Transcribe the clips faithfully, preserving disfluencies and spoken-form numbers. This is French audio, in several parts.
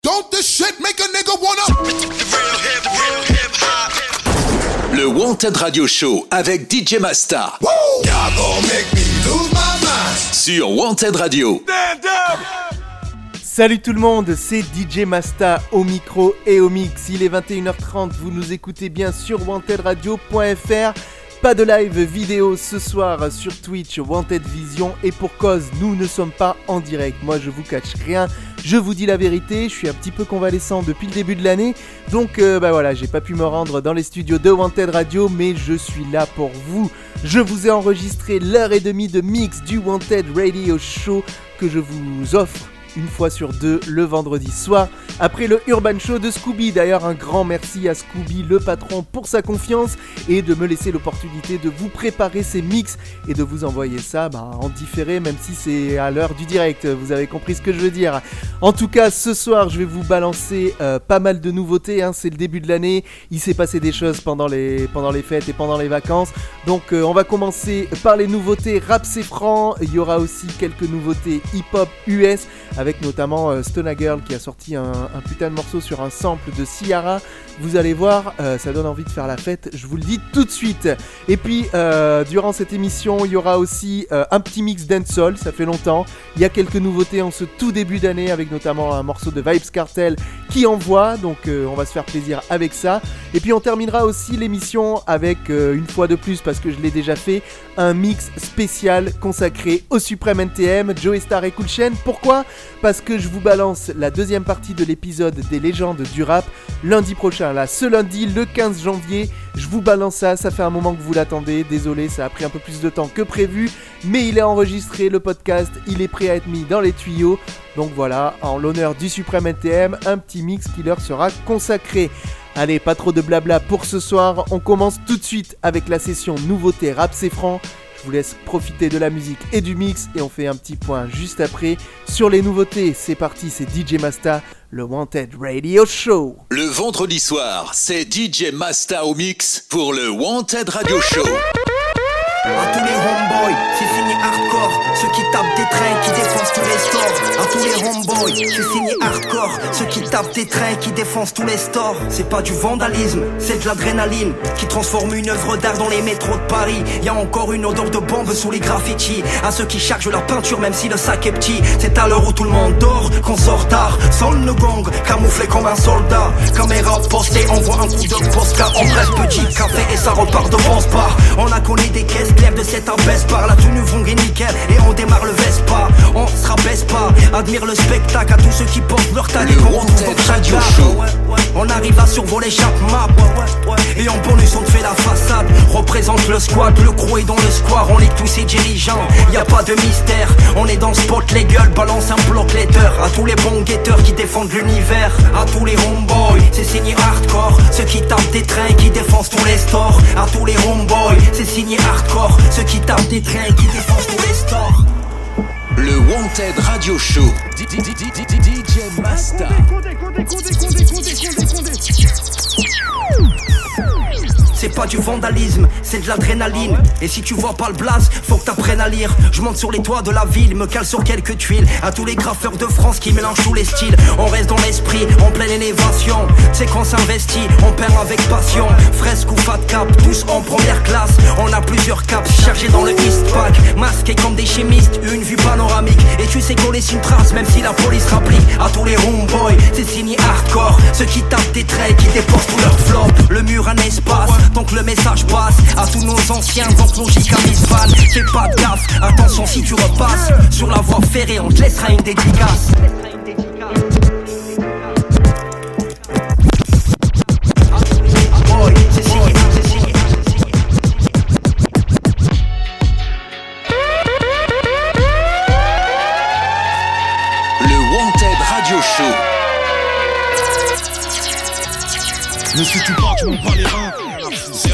Don't this shit make a nigga wanna... Le Wanted Radio Show avec D J Masta. Woo! Y'all gon' make me lose my mind. Sur Wanted Radio. Stand up! Salut tout le monde, c'est D J Masta au micro et au mix. Il est vingt et une heures trente, vous nous écoutez bien sur wanted radio point f r. Pas de live vidéo ce soir sur Twitch, Wanted Vision, et pour cause, nous ne sommes pas en direct. Moi je vous cache rien, je vous dis la vérité, je suis un petit peu convalescent depuis le début de l'année, donc euh, bah voilà, j'ai pas pu me rendre dans les studios de Wanted Radio, mais je suis là pour vous. Je vous ai enregistré l'heure et demie de mix du Wanted Radio Show que je vous offre une fois sur deux le vendredi soir après le Urban Show de Scooby. D'ailleurs un grand merci à Scooby le patron pour sa confiance et de me laisser l'opportunité de vous préparer ces mix et de vous envoyer ça bah, en différé, même si c'est à l'heure du direct, vous avez compris ce que je veux dire. En tout cas ce soir je vais vous balancer euh, pas mal de nouveautés, hein. C'est le début de l'année, il s'est passé des choses pendant les, pendant les fêtes et pendant les vacances, donc euh, on va commencer par les nouveautés rap c'est franc. Il y aura aussi quelques nouveautés hip-hop U S avec notamment euh, Stona Girl qui a sorti un, un putain de morceau sur un sample de Ciara. Vous allez voir, euh, ça donne envie de faire la fête, je vous le dis tout de suite. Et puis, euh, durant cette émission, il y aura aussi euh, un petit mix dancehall, ça fait longtemps. Il y a quelques nouveautés en ce tout début d'année, avec notamment un morceau de Vybz Kartel qui envoie, donc euh, on va se faire plaisir avec ça. Et puis on terminera aussi l'émission avec, euh, une fois de plus, parce que je l'ai déjà fait, un mix spécial consacré au Supreme N T M, Joey Star et Cool Chain. Pourquoi ? Parce que je vous balance la deuxième partie de l'épisode des légendes du rap lundi prochain, là, ce lundi, le quinze janvier, je vous balance ça, ça fait un moment que vous l'attendez, désolé, ça a pris un peu plus de temps que prévu, mais il est enregistré, le podcast, il est prêt à être mis dans les tuyaux, donc voilà, en l'honneur du Supreme N T M, un petit mix qui leur sera consacré. Allez, pas trop de blabla pour ce soir, on commence tout de suite avec la session nouveauté rap c'est franc. Je vous laisse profiter de la musique et du mix et on fait un petit point juste après sur les nouveautés. C'est parti, c'est D J Masta, le Wanted Radio Show. Le vendredi soir, c'est D J Masta au mix pour le Wanted Radio Show. À tous les homeboys, c'est signé hardcore. Ceux qui tapent des trains, qui défoncent tous les stores. À tous les homeboys, c'est signé hardcore. Ceux qui tapent des trains, qui défoncent tous les stores. C'est pas du vandalisme, c'est de l'adrénaline qui transforme une œuvre d'art dans les métros de Paris. Y'a encore une odeur de bombe sous les graffitis. À ceux qui chargent la peinture même si le sac est petit. C'est à l'heure où tout le monde dort qu'on sort tard. Sonne le gong, camouflé comme un soldat. Caméra postée, envoie un coup de postcard. On presse petit café et ça repart de bon spa. On a collé des caisses claires de cette abaisse par la tenue vont et nickel. Et on démarre le Vespa, on se rabaisse pas. Admire le spectacle à tous ceux qui portent leur tag. Le Wanted Radio Show. On arrive à survoler chaque map. Et en bonus on te fait la façade. Représente le squad, le crew est dans le square. On lit tous ces dirigeants, y a pas de mystère. On est dans le spot, les gueules, balance un bloc letter. À tous les bons guetteurs qui défendent l'univers. À tous les homeboys, c'est signé hardcore. Ceux qui tapent des trains, qui défoncent tous les stores. À tous les homeboys, c'est signé hardcore. Ceux qui tapent des trains, qui défoncent tous les stores. Le Wanted Radio Show. D J Masta. C'est pas du vandalisme, c'est de l'adrénaline. Et si tu vois pas le blaze, faut que t'apprennes à lire. Je monte sur les toits de la ville, me cale sur quelques tuiles. À tous les graffeurs de France qui mélangent tous les styles. On reste dans l'esprit, en pleine élévation. C'est qu'on s'investit, on perd avec passion. Fresque ou fat cap, tous en première classe. On a plusieurs caps chargés dans le East Pack. Masqués comme des chimistes, une vue panoramique. Et tu sais qu'on laisse une trace, même si la police rapplique. À tous les homeboys, c'est signé hardcore. Ceux qui tapent des traits, qui déposent tout leur flop. Le mur un espace, donc le message passe à tous nos anciens, donc logique à Miss Van. Fais pas de gaffe, attention si tu repasses sur la voie ferrée, on te laissera une dédicace. Le Wanted Radio Show. Ne suis-tu pas que je m'en bats les reins? C'est aérien,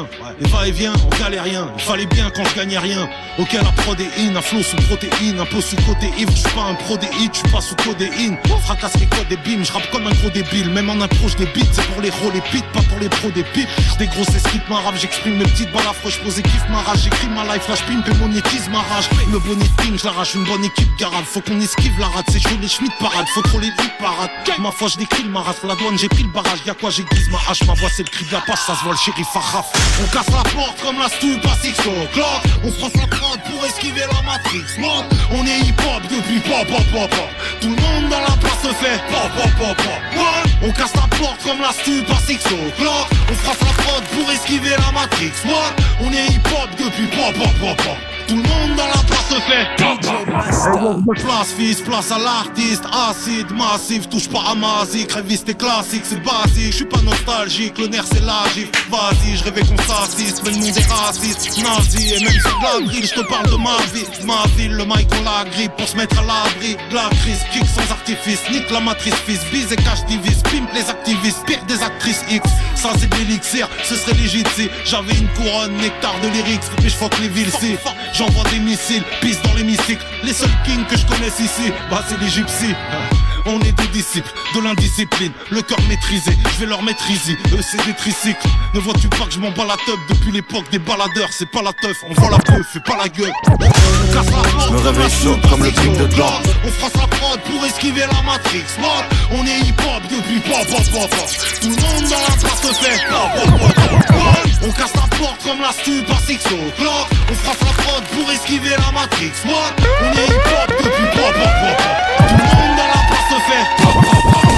rien. Les va-et-vient, on galérien. Il fallait bien quand je gagnais rien. Ok, la prodéine, un flow sous protéine, un peu sous côté ivre. J'suis pas un pro des hits, j'suis pas sous codéine. Fracasse les codes des bimes, j'rappe comme un gros débile. Même en approche des beats, c'est pour les rôles les pits, pas pour les pros des pipes. J'dégrosse ces skips, ma rap, j'exprime mes petites balles affreuses. J'pose et kiffe ma rage, j'écris ma life, flash pimp et monétise ma rage. Le boniting, j'l'arrache, une bonne équipe garade. Faut qu'on esquive la rate, c'est chaud les schmitt parade. Faut trop les hits parade. Ma foi, j'décris le maras, la douane, j'ai pris le barrage. Y'a quoi, j'aiguise ma hache, ma voix, c'est le cri de la passe, ça se voit le shérif Arraf. On casse la porte comme la stu, pas six o'clock. On froisse la prod pour esquiver la matrix. Mode, on est hip-hop depuis pop, pop, pop, pop. Tout le monde dans la place se fait pop, pop, pop, pop. What? On casse la porte comme la stu, pas six o'clock. On froisse la prod pour esquiver la matrix. What? On est hip-hop depuis pop, pop, pop, pop. Tout le monde dans la place se fait pop, pop, pop. Place fils, place à l'artiste. Acide, massif, touche pas à ma zik. Révise tes classiques, c'est basique. J'suis pas nostalgique, le nerf c'est la gifle. Vas-y, j'rêvais qu'on s'assiste, mais le monde est raciste, nazi. Et même sur de la grille, j'te parle de ma vie. Ma ville, le mic on la grippe pour se mettre à l'abri. La crise, kick sans artifice, nique la matrice fils. Bise et cache divise, pimpe les activistes. Pire des actrices X, ça c'est de l'élixir. Ce serait légit si j'avais une couronne, nectar de lyrics. Mais j'fuck les villes si j'envoie des missiles, pisse dans l'hémicycle. Les seuls kings que je connaisse ici, bah c'est les gypsies. On est des disciples de l'indiscipline, le cœur maîtrisé, je vais leur maîtriser. Eux c'est des tricycles. Ne vois-tu pas que je m'en bats la teub depuis l'époque des baladeurs? C'est pas la teuf, on voit la peuf, fais pas la gueule. On casse la porte, je me réveille chaud comme le clip de Gland. On froisse la prod pour esquiver la matrix. Mode, on est hip-hop depuis pop, pop, pop, pop. Tout le monde dans la place se fait pop, pop, pop, pop. On casse la porte comme la stu par six o'clock. On froisse la prod pour esquiver la matrix. Mode, on est hip-hop depuis pop, pop, pop, pop. Tout le monde dans la place se fait pop, pop, pop, pop.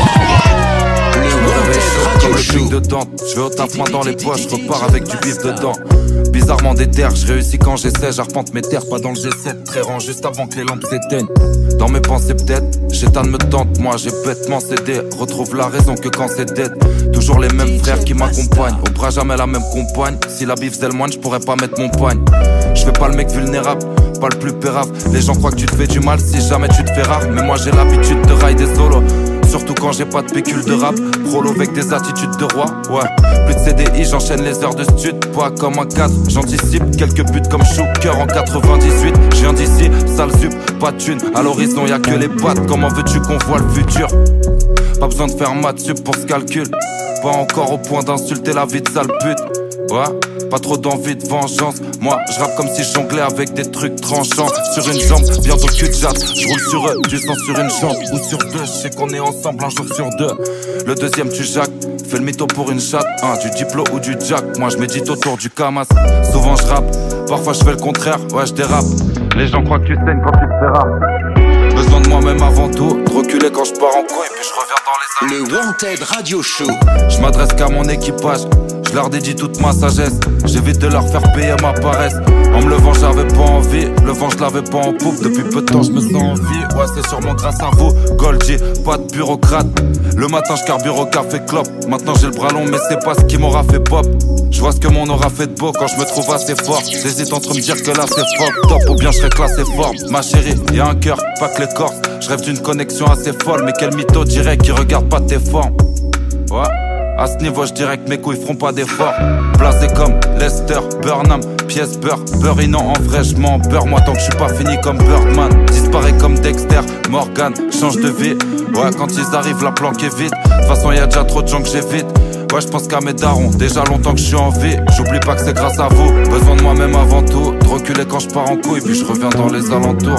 Comme le clic de Dante, je vais au taf main dans les poches, je repars avec du bif dedans. Bizarrement des terres, je réussis quand j'essaie, j'arpente mes terres, pas dans le G sept, très rang juste avant que les lampes s'éteignent. Dans mes pensées peut-être, Chétan me tente, moi j'ai bêtement cédé. Retrouve la raison que quand c'est dead. Toujours les mêmes frères qui m'accompagnent, au bras jamais la même compagne. Si la bif c'est le moine, je pourrais pas mettre mon poigne. Je fais pas le mec vulnérable, pas le plus pérave. Les gens croient que tu te fais du mal si jamais tu te fais rare. Mais moi j'ai l'habitude de rider solo, surtout quand j'ai pas de pécule de rap. Prolo avec des attitudes de roi, ouais. Plus de C D I, j'enchaîne les heures de stud. Pas comme un cadre, j'anticipe quelques buts comme Shooker en quatre-vingt-dix-huit. Je viens d'ici, sale sup, pas de thune. À l'horizon y'a que les pattes, comment veux-tu qu'on voit le futur? Pas besoin de faire maths sup pour ce calcul. Pas encore au point d'insulter la vie de sale pute. Ouais, pas trop d'envie de vengeance. Moi, je rappe comme si je jonglais avec des trucs tranchants. Sur une jambe, bientôt cul de jatte. Je roule sur eux, du sang sur une jambe ou sur deux. Je sais qu'on est ensemble un jour sur deux. Le deuxième, tu jacques. Fais le mytho pour une chatte, hein, du diplo ou du jack. Moi, je médite autour du camas. Souvent, je rappe. Parfois, je fais le contraire. Ouais, je dérape. Les gens croient que tu saignes quand tu te fais rap. Besoin de moi-même avant tout. De reculer quand je pars en couille, puis je reviens dans les années. Le Wanted Radio Show. Je m'adresse qu'à mon équipage. Je leur dédie toute ma sagesse. J'évite de leur faire payer ma paresse. En me levant j'avais pas envie. Le vent je l'avais pas en poupe. Depuis peu de temps je me sens en vie. Ouais c'est sûrement grâce à vous. Goldie, pas de bureaucrate. Le matin je carbure au café clope. Maintenant j'ai le bras long mais c'est pas ce qui m'aura fait pop. Je vois ce que mon aura fait de beau quand je me trouve assez fort. J'hésite entre me dire que là c'est fuck top ou bien je serais classé fort. Ma chérie, y'a un cœur, pas que l'écorce. Je rêve d'une connexion assez folle. Mais quel mytho dirait qui regarde pas tes formes. Ouais. À ce niveau, je dirais que mes couilles feront pas d'efforts. Blasé comme Lester, Burnham, pièce beurre, Burrinant en vrai, je m'en beurre. Moi, tant que je suis pas fini comme Birdman. Disparaît comme Dexter, Morgan, change de vie. Ouais, quand ils arrivent, la planque est vide. De toute façon, y'a déjà trop de gens que j'évite. Ouais, je pense qu'à mes darons, déjà longtemps que je suis en vie. J'oublie pas que c'est grâce à vous. Besoin de moi-même avant tout. De reculer quand je pars en couille, puis je reviens dans les alentours.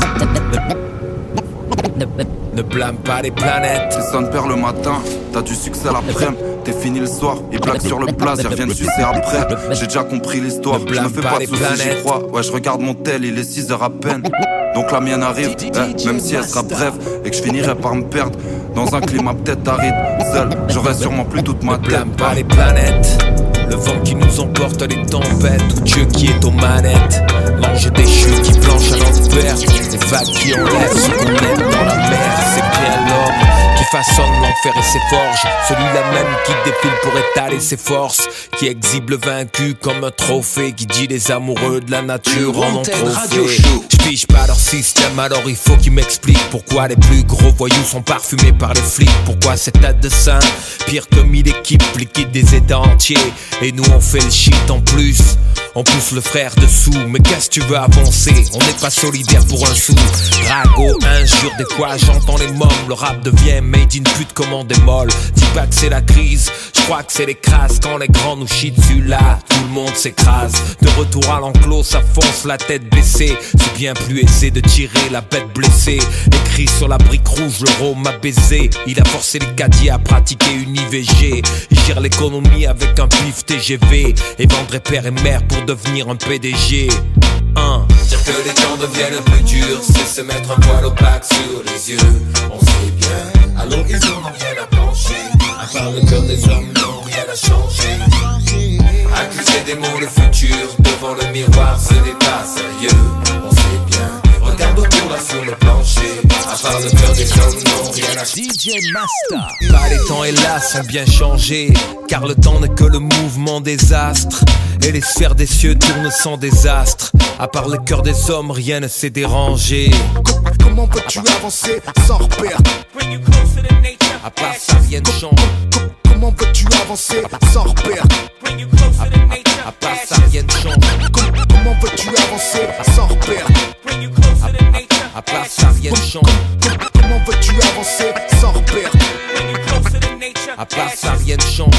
Ne blâme pas les planètes. Si ça ne perd le matin, t'as du succès l'après-midi. T'es fini le soir, ils blaguent sur le place, ils reviennent sucer après. J'ai déjà compris l'histoire, je me fais pas de soucis, j'y crois. Ouais, je regarde mon tel, il est six heures à peine. Donc la mienne arrive, eh, même si elle sera brève. Et que je finirai par me perdre dans un climat peut-être aride. Seul, j'aurai sûrement plus toute ma tête. Ne blâme pas les planètes. Le vent qui nous emporte, les tempêtes, ou Dieu qui est aux manettes. Manger des chutes qui planchent à l'envers. Des vagues qui enlèvent ce qu'on aime dans la mer. C'est bien l'homme qui façonne enfer et ses forges. Celui-là même qui défile pour étaler ses forces, qui exhibe le vaincu comme un trophée, qui dit les amoureux de la nature en ont trop fait. J'pige pas leur système, alors il faut qu'ils m'expliquent pourquoi les plus gros voyous sont parfumés par les flics. Pourquoi cette tête de saint, pire que mille équipes, liquide des états entiers, et nous on fait le shit en plus. On pousse le frère dessous, mais qu'est-ce que tu veux avancer? On n'est pas solidaire pour un sou. Rago, injure, des fois j'entends les mômes. Le rap devient made in pute comme on démole. Dis pas que c'est la crise, je crois que c'est les crasses. Quand les grands nous chient dessus là, tout le monde s'écrase. De retour à l'enclos, ça fonce la tête baissée. C'est bien plus aisé de tirer la bête blessée. Écrit sur la brique rouge, le rhum a baisé. Il a forcé les caddies à pratiquer une I V G. Il gère l'économie avec un pif T G V et vendrait père et mère pour devenir un P D G. Un. Dire que les temps deviennent plus durs, c'est se mettre un poil opaque sur les yeux. On sait bien, à l'horizon n'ont rien à pencher. À part le cœur des hommes, non, rien à changer. Accuser des mots le futur, devant le miroir, ce n'est pas sérieux. On sait bien, regarde autour là sur le plancher. À part le cœur des hommes, non, rien à changer. D J Masta. Bah les temps hélas ont bien changé, car le temps n'est que le mouvement des astres. Et les sphères des cieux tournent sans désastre. À part le cœur des hommes, rien ne s'est dérangé. Comment peux-tu avancer sans repère? À part ça, rien ne change. Comment peux-tu avancer sans repère? À part ça, rien ne change. Comment peux-tu avancer sans repère? À part ça, rien ne change. Comment peux-tu avancer sans repère? À part ça, rien ne change.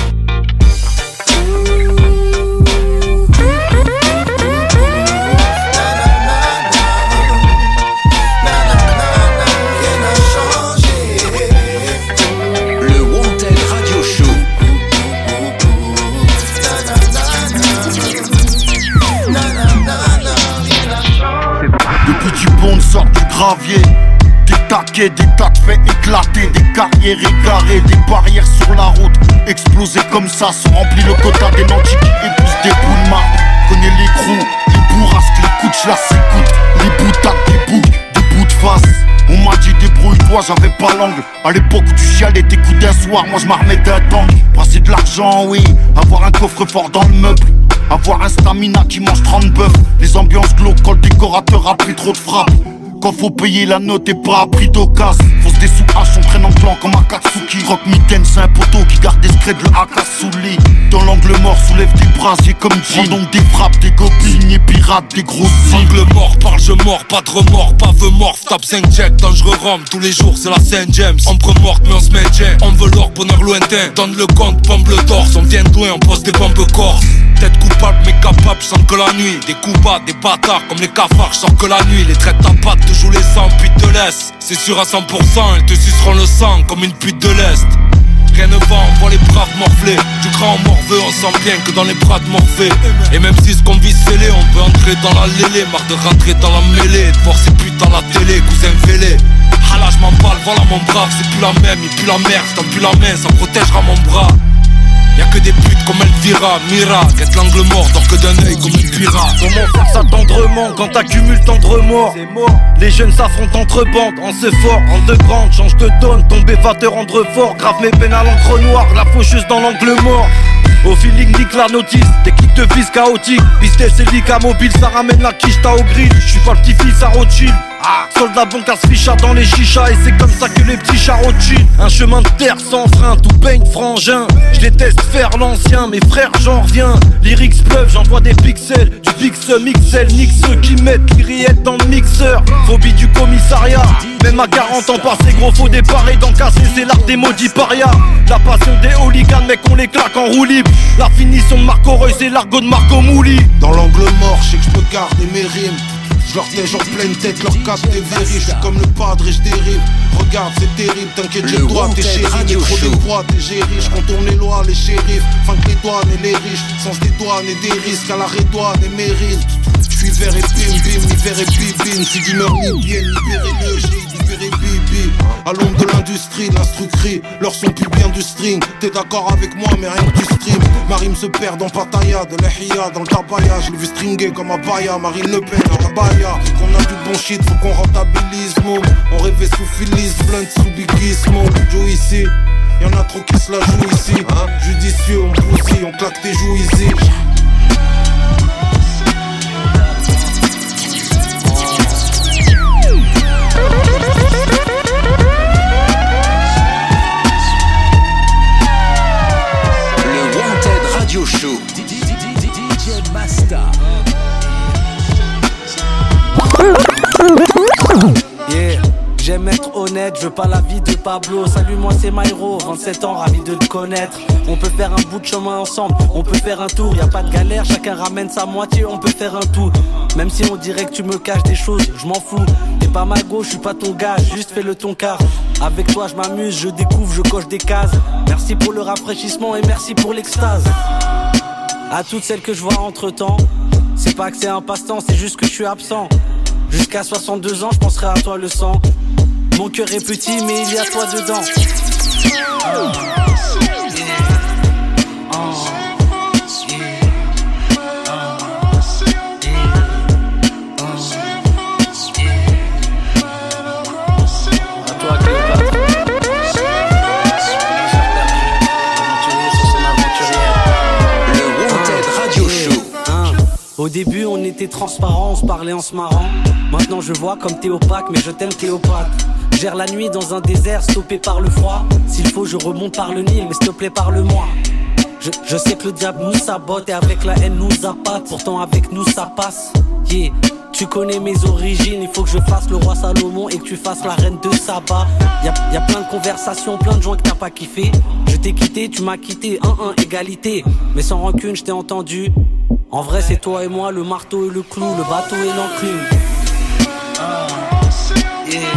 Depuis du bon sort du gravier, des taquets, des tas de faits éclatés, des carrières égarées, des barrières sur la route explosées comme ça, se remplit le quota des nantis qui épousent des bouts de marque. Connais les crews, les bourrasques, les coups de chasse, écoute, les boutades, des boucs, des bouts de face. On m'a dit débrouille-toi, j'avais pas l'angle. À l'époque où tu chialais tes coups d'un soir, moi je m'armais d'un tank. Brasser de l'argent, oui, avoir un coffre-fort dans le meuble. Avoir un stamina qui mange trente bœufs. Les ambiances glauques quand le décorateur a pris trop de frappes. Quand faut payer la note et pas à prix d'occasion. Fausse des sous-haches, on traîne en plan comme Akatsuki. Rock Mitten, c'est un poteau qui garde des secrets de l'Akasouli. Dans l'angle mort, soulève des brasiers comme Jean. Donc des frappes, des gobelins et pirates, des gros signes. Angle mort, parle je mort, pas de remords, pas veut mort. Tape cinq checks, dangereux rhum, tous les jours c'est la Saint James. Ombre morte mais on se maintient, on veut l'or, bonheur lointain. Donne le compte, pompe le torse, on vient de loin, on pose des bombes corse. Tête coupable mais capable, je sens que la nuit. Des coups bas, des bâtards comme les cafards, je sens que la nuit. Les traites ta patte, te jouent les sangs, puis te laisse. C'est sûr à cent pour cent, ils te suceront le sang comme une pute de l'Est. Rien ne va, on voit les braves morflés. Du grand morveux, on sent bien que dans les bras de Morphée. Et même si ce qu'on vit scellé, on veut entrer dans la lélé. Marre de rentrer dans la mêlée, de voir ces putes dans la télé, cousin fêlé. Ah là je m'en parle, voilà mon brave, c'est plus la même, il pue la merde, t'en plus la main, ça protégera mon bras. Y'a que des putes comme Elvira, Mira, guette l'angle mort, dort que d'un œil comme une pirate. Comment faire ça tendrement quand t'accumules tant de remords? Les jeunes s'affrontent entre bandes, en ce fort, en deux grandes, change de donne, tomber va te rendre fort, grave mes peines à l'encre noire, la faucheuse dans l'angle mort. Au feeling nique la notice, des clics de vis chaotiques. Business et lica mobile, ça ramène la quiche, t'as au grill. J'suis pas le petit-fils à Rothschild. Ah, soldat bancaire se ficha dans les chichas. Et c'est comme ça que les petits chats Rothschild. Un chemin de terre sans frein, tout baigne frangin. J'déteste faire l'ancien, mes frères j'en reviens. Lyrics pleuvent, j'envoie des pixels. Du pixel, mixel, nique ceux qui mettent l'iriette dans le mixeur. Phobie du commissariat, même à quarante ans passé gros faut déparer d'encasser, c'est l'art des maudits parias. La passion des hooligans, mec on les claque en roue libre. La finition de Marco Reus et l'argot de Marco Mouli. Dans l'angle mort, je sais que je peux garder mes rimes. Je leur tège en pleine tête, leur cap des vérifs. Je suis comme le padre et je dérive. Regarde, c'est terrible, t'inquiète, j'ai le droit, t'es chéri. Mais trop des droits, t'es j'ai riche. Quand on est loin, les shérifs. Fin que les douanes et les riches. Sens des douanes et des risques à la rédouane et mérite. Je suis vert et bim bim, ni vert et bim bim. Si du meurs ni bien, libérez-le, j'ai dit inspiré Bibi. À l'ombre de l'industrie, l'instructerie, leur son pue bien du string. T'es d'accord avec moi, mais rien que du stream. Ma rime se perd dans Pattaya, de l'Ehia, dans le tabaya. Je l'ai vu stringer comme Abaya, Marine Le Pen, à la Baya. Qu'on a du bon shit, faut qu'on rentabilise, mon. On rêvait sous Phyllis, blunt sous Biggie Smoke. Joe ici, y'en a trop qui se la jouent ici, hein. Judicieux, on bousille, on claque tes joues ici. Radio Show. D J Masta. Yeah, j'aime être honnête, je veux pas la vie de Pablo. Salut, moi c'est Myro, vingt-sept ans, ravi de te connaître. On peut faire un bout de chemin ensemble, on peut faire un tour, y a pas de galère, chacun ramène sa moitié, on peut faire un tout. Même si on dirait que tu me caches des choses, je m'en fous. T'es pas ma go, je suis pas ton gars, juste fais le ton quart. Avec toi je m'amuse, je découvre, je coche des cases. Merci pour le rafraîchissement et merci pour l'extase. À toutes celles que je vois entre temps, c'est pas que c'est un passe-temps, c'est juste que je suis absent. Jusqu'à soixante-deux ans, je penserai à toi le sang. Mon cœur est petit, mais il y a toi dedans. Oh. Au début on était transparent, on se parlait en se marrant. Maintenant je vois comme t'es opaque, mais je t'aime Cléopâtre. Gère la nuit dans un désert stoppé par le froid. S'il faut je remonte par le Nil, mais s'il te plaît parle-moi. Je, je sais que le diable nous sabote et avec la haine nous appâte. Pourtant avec nous ça passe. Yeah. Tu connais mes origines, il faut que je fasse le roi Salomon et que tu fasses la reine de Saba. Y'a y a plein de conversations, plein de gens que t'as pas kiffé. Je t'ai quitté, tu m'as quitté, un un égalité. Mais sans rancune je t'ai entendu. En vrai c'est toi et moi, le marteau et le clou, le bateau et l'enclume. Oh. Yeah.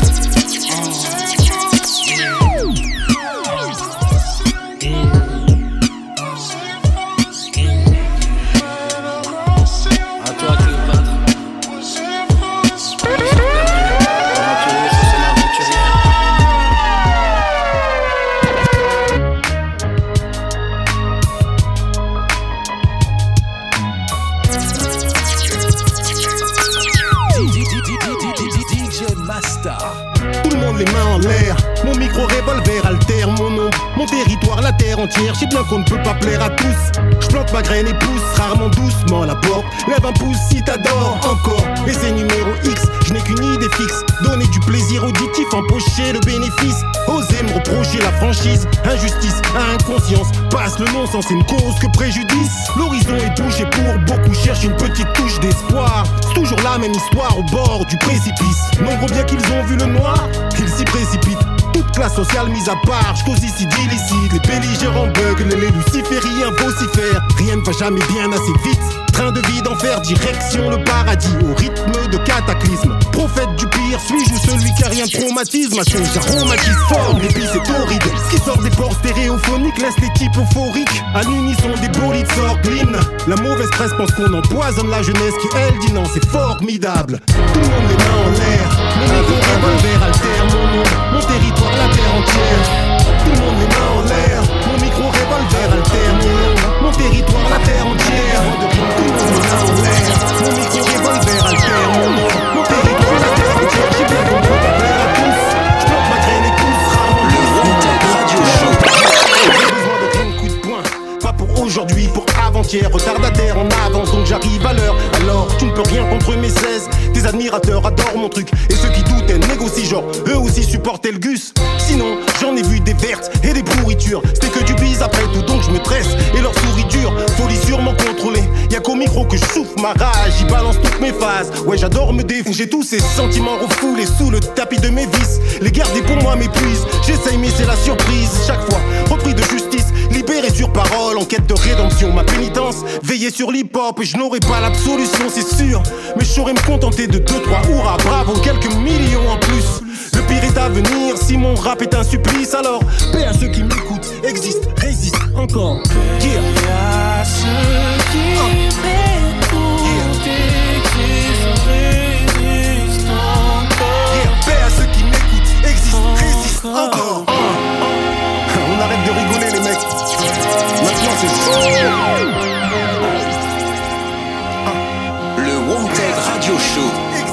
Les mains en l'air, mon micro revolver altère mon nom, mon territoire, la terre entière. J'sais bien qu'on ne peut pas plaire à tous. J'plante ma graine et pousse rarement doucement la porte. Lève un pouce si t'adores encore. Et c'est numéro X, je n'ai qu'une idée fixe. Donner du plaisir auditif, empocher le bénéfice. Oser me reprocher la franchise, injustice, inconscience. Passe le non-sens, c'est une cause que préjudice. L'horizon est touché pour beaucoup, cherche une petite touche d'espoir. C'est toujours la même histoire au bord du précipice. Nombreux bien qu'ils ont vu le noir, qu'ils s'y précipitent. Toute classe sociale mise à part, j'cause ici d'illicite. Les belligérants buglent, les lucifériens vocifèrent. Rien ne va jamais bien assez vite. Train de vie d'enfer, direction le paradis. Au rythme de cataclysme. Prophète du pire, suis-je ou celui qui a rien de traumatisme? Ma chose aromatise fort, l'épice c'est horrible. Ce qui sort des ports stéréophoniques laisse les types euphoriques. À l'unisson des bolides sort l'hymne. La mauvaise presse pense qu'on empoisonne la jeunesse qui elle dit non, c'est formidable. Tout le monde les mains en l'air. Mon micro revolver altère mon nom, mon territoire, la terre entière. Tout le monde les mains en l'air. Mon micro revolver altère mon nom, mon territoire, la terre entière. Tout le monde les mains en l'air. Mon micro revolver altère mon nom, mon territoire, la terre entière. J'ai bien qu'on peut pas plaire à tous. J'plante ma graine et pousse rarement. Le Wanted Radio Show. J'ai besoin de plein de coups de poing. Pas pour aujourd'hui, pour avant-hier. Retardataire en avance, donc j'arrive à l'heure. Alors tu ne peux rien contre mes seize. Tes admirateurs adorent mon truc. Et ceux qui doutaient négocient genre eux aussi supportaient le gus. Sinon j'en ai vu des vertes et des pourritures. C'était que du bise après tout, donc je me tresse. Et leur souris dure, folie sûrement contrôlée. Y'a qu'au micro que je souffle ma rage. J'y balance toutes mes phases. Ouais j'adore me défouler. J'ai tous ces sentiments refoulés sous le tapis de mes vices. Les garder pour moi m'épuisent. J'essaye mais c'est la surprise. Chaque fois repris de justice, libéré sur parole, en quête de rédemption. Ma pénitence, veiller sur l'hip-hop. Et je n'aurai pas l'absolution c'est sûr. Mais je saurais me contenter de deux, trois hurrahs, bravo, quelques millions en plus. Le pire est à venir, si mon rap est un supplice. Alors, paix à ceux qui m'écoutent, existent, résistent encore. Yeah. Paix à ceux qui m'écoutent, existent, résistent encore. Yeah. Paix à ceux qui m'écoutent. Le Wanted Radio Show.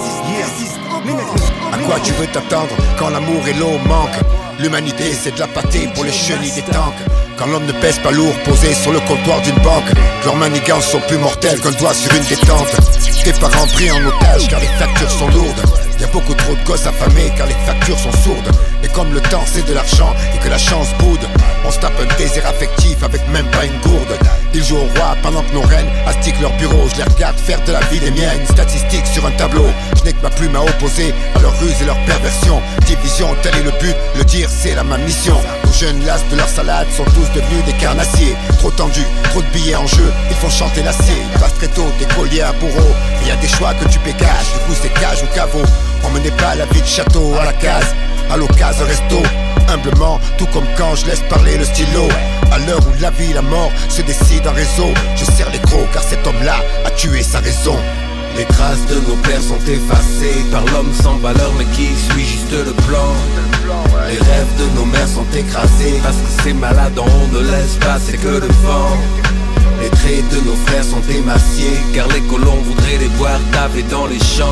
À quoi tu veux t'attendre quand l'amour et l'eau manquent? L'humanité c'est de la pâtée pour les chenilles des tanks. Quand l'homme ne pèse pas lourd, posé sur le comptoir d'une banque, leurs manigances sont plus mortelles qu'un doigt sur une détente. Tes parents pris en otage car les factures sont lourdes. Y'a beaucoup trop de gosses affamés car les factures sont sourdes. Et comme le temps c'est de l'argent et que la chance boude, on se tape un désir affectif avec même pas une gourde. Ils jouent au roi pendant que nos reines astiquent leur bureau. Je les regarde faire de la vie des miennes, statistiques sur un tableau. Je n'ai que ma plume à opposer à leur ruse et leur perversion. Division, tel est le but, le dire c'est la même mission. Nos jeunes lasses de leur salade sont tous devenus des carnassiers. Trop tendus, trop de billets en jeu, ils font chanter l'acier. Ils passent très tôt des colliers à bourreau. Et y a des choix que tu pécages, du coup c'est cage ou caveau. On menait pas la vie de château à la case, à l'occasion resto. Humblement, tout comme quand je laisse parler le stylo. À l'heure où la vie et la mort se décident en réseau, je serre les crocs car cet homme-là a tué sa raison. Les traces de nos pères sont effacées par l'homme sans valeur mais qui suit juste le plan. Les rêves de nos mères sont écrasés parce que ces malades on ne laisse passer que le vent. Les traits de nos frères sont émaciés car les colons voudraient les voir taper dans les champs.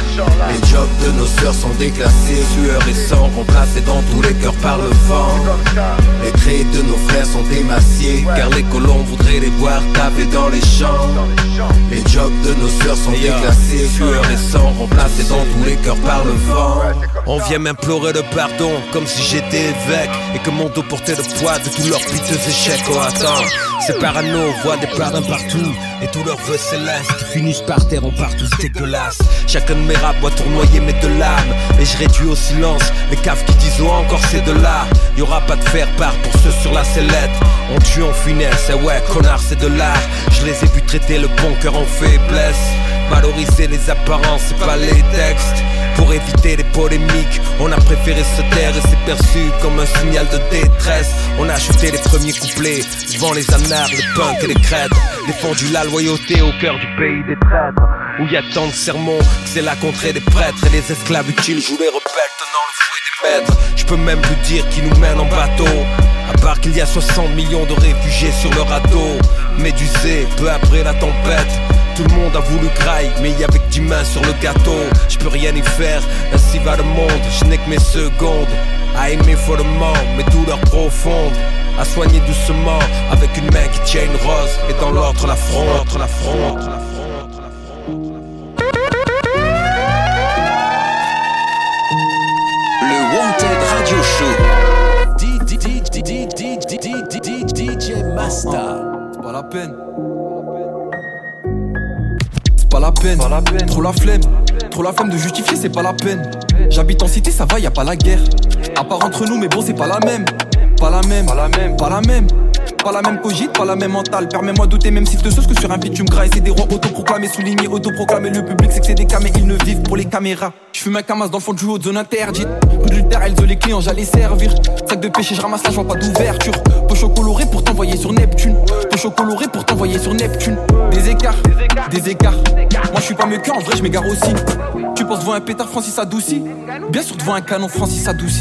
Les jobs de nos sœurs sont déclassés, sueur et sang remplacés dans tous les cœurs par le vent. Les traits de nos frères sont émaciés car les colons voudraient les voir taper dans les champs. Les jobs de nos sœurs sont déclassés, sueur et sang remplacés dans tous les cœurs par le vent. On vient m'implorer le pardon comme si j'étais évêque et que mon dos portait le poids de tous leurs piteux échecs. Oh attends, c'est parano, voit des parrains partout et tous leurs vœux célestes finissent par terre, on part tous dégueulasses. Chacun de mes raps doit tournoyer mes deux lames et je réduis au silence les caves qui disent oh encore c'est de là. Y'aura pas de faire part pour ceux sur la sellette. On tue en finesse, et ouais connard c'est de l'art. Je les ai vus traiter le bon cœur en faiblesse, valoriser les apparences c'est pas les textes. Pour éviter les polémiques, on a préféré se taire et c'est perçu comme un signal de détresse. On a acheté les premiers couplets devant les anards, les punks et les crêtes. Défendu la loyauté au cœur du pays des traîtres, où y a tant de sermons que c'est la contrée des prêtres. Et les esclaves utiles jouent les rebelles tenant le fouet des maîtres. Je peux même plus dire qui nous mène en bateau, à part qu'il y a soixante millions de réfugiés sur le radeau. Médusé, peu après la tempête, tout le monde a voulu graille, mais y avait que dix mains sur le gâteau. Je peux rien y faire, ainsi va le monde. Je n'ai que mes secondes à aimer follement mes douleurs profondes, à soigner doucement avec une main qui tient une rose et dans l'autre la fronde. La fronde. Le Wanted Radio Show. D J Masta. C'est pas la peine. Pas la peine, pas la peine, trop la flemme, trop la flemme de justifier, c'est pas la peine. J'habite en cité, ça va, y a pas la guerre. À part entre nous, mais bon, c'est pas la même. Pas la même, pas la même, pas la même. Pas la même cogite, pas la même mentale. Permets-moi de douter, même si te sauce que sur un beat tu me grailles. C'est des rois autoproclamés, soulignés, autoproclamés. Le public c'est que c'est des camés, ils ne vivent pour les caméras. J'fume un camas dans le fond du haut de zone interdite. Coup de terre, elles ont les clients, j'allais servir. Sac de pêcher, je ramasse la, je vois pas d'ouverture. Pocho coloré pour t'envoyer sur Neptune. Pocho coloré pour t'envoyer sur Neptune. Des écarts, des écarts. Moi je suis pas mieux qu'en vrai, je m'égare aussi. Tu penses devant un pétard, Francis adouci. Bien sûr devant un canon, Francis adouci.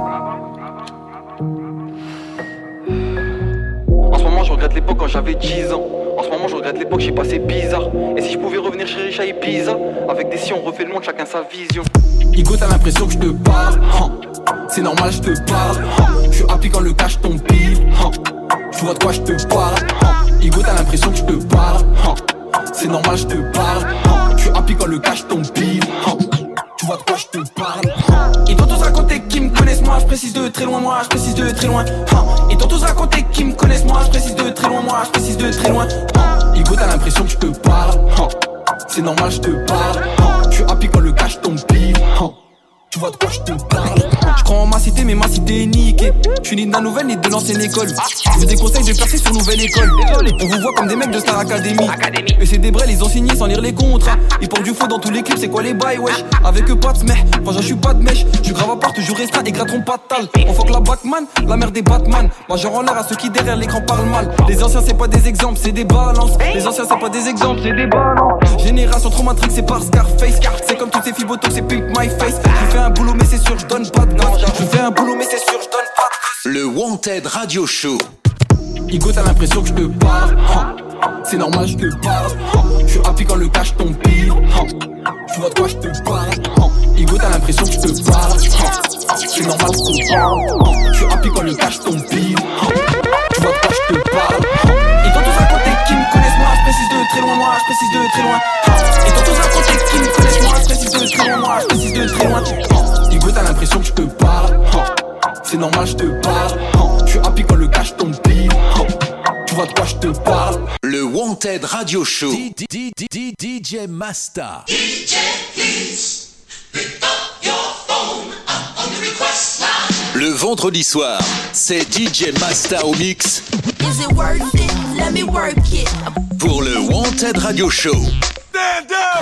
En ce moment je regrette l'époque quand j'avais dix ans. En ce moment je regrette l'époque, j'ai passé bizarre. Et si je pouvais revenir chez Richa et Pisa, avec des si on refait le monde, chacun sa vision. Igo t'as l'impression que je te parle, hein. C'est normal je te parle, hein. Je suis happy quand le cash tombe pile, hein. Tu vois de quoi je te parle, hein. Igo t'as l'impression que je te parle, hein. C'est normal je te parle, hein. Je suis happy quand le cash tombe pile, hein. Tu vois de quoi je te parle, hein. Ils t'ont tous raconté qu'ils me connaissent moi, je précise de très loin, moi je précise de très loin, hein. Ils t'ont tous raconté qu'ils me connaissent moi, je précise de très loin, moi je précise de très loin, hein. Igo t'as l'impression que je te parle, hein. C'est normal je te parle, hein. Je suis happy quand le cash tombe pile, hein. Tu vois de quoi je te parle. Je crois en ma cité mais ma cité est niquée. Je suis ni de la nouvelle ni de l'ancienne école. Je vous déconseille de percer sur nouvelle école. On vous voit comme des mecs de Star Academy. Et c'est des brels, ils ont signé sans lire les contrats. Ils portent du faux dans tous les clips, c'est quoi les bails wesh. Avec eux pas de smeh, franchement je suis pas de mèche. Je suis grave à part, toujours restreint et gratteront pas de tal. On fuck la Batman, la mère des Batman. Moi j'en rends l'air à ceux qui derrière l'écran parlent mal. Les anciens c'est pas des exemples, c'est des balances. Les anciens c'est pas des exemples, c'est des balances. Génération trop matrix, c'est par Scarface. C'est comme toutes ces filles botox, c'est pink my face. Je fais un boulot mais c'est sûr je donne pas de gage. Je fais un boulot mais c'est sûr je donne pas de gage. Le Wanted Radio Show. Igo, t'as l'impression que je te parle. Hein. C'est normal, je te parle. Hein. Je suis happy quand le cash tombe pile. Hein. Tu vois de quoi je te parle. Hein. Igo, t'as l'impression que je te parle. Hein. C'est normal, je te parle. Hein. Je suis happy quand le cash tombe pile. Hein. Tu vois de quoi je te parle. Hein. Et dans tous à côté qui me connaissent moi, je précise de très loin, moi je précise de très loin. Hein. Et dans tous à côté qui me connaissent moi, je précise de très loin, moi je précise de très loin. Hein. Igo, t'as l'impression que je te parle. Hein. C'est normal, je te parle. Hein. Je suis happy quand le cash tombe pile. Hein. Tu vois de quoi je te parle. Le Wanted Radio Show. D J Masta. D J, please pick up your phone. I'm on the request line. Le vendredi soir, c'est D J Masta au mix. Is it worth it? Let me work it. Pour le Wanted Radio Show. Stand up!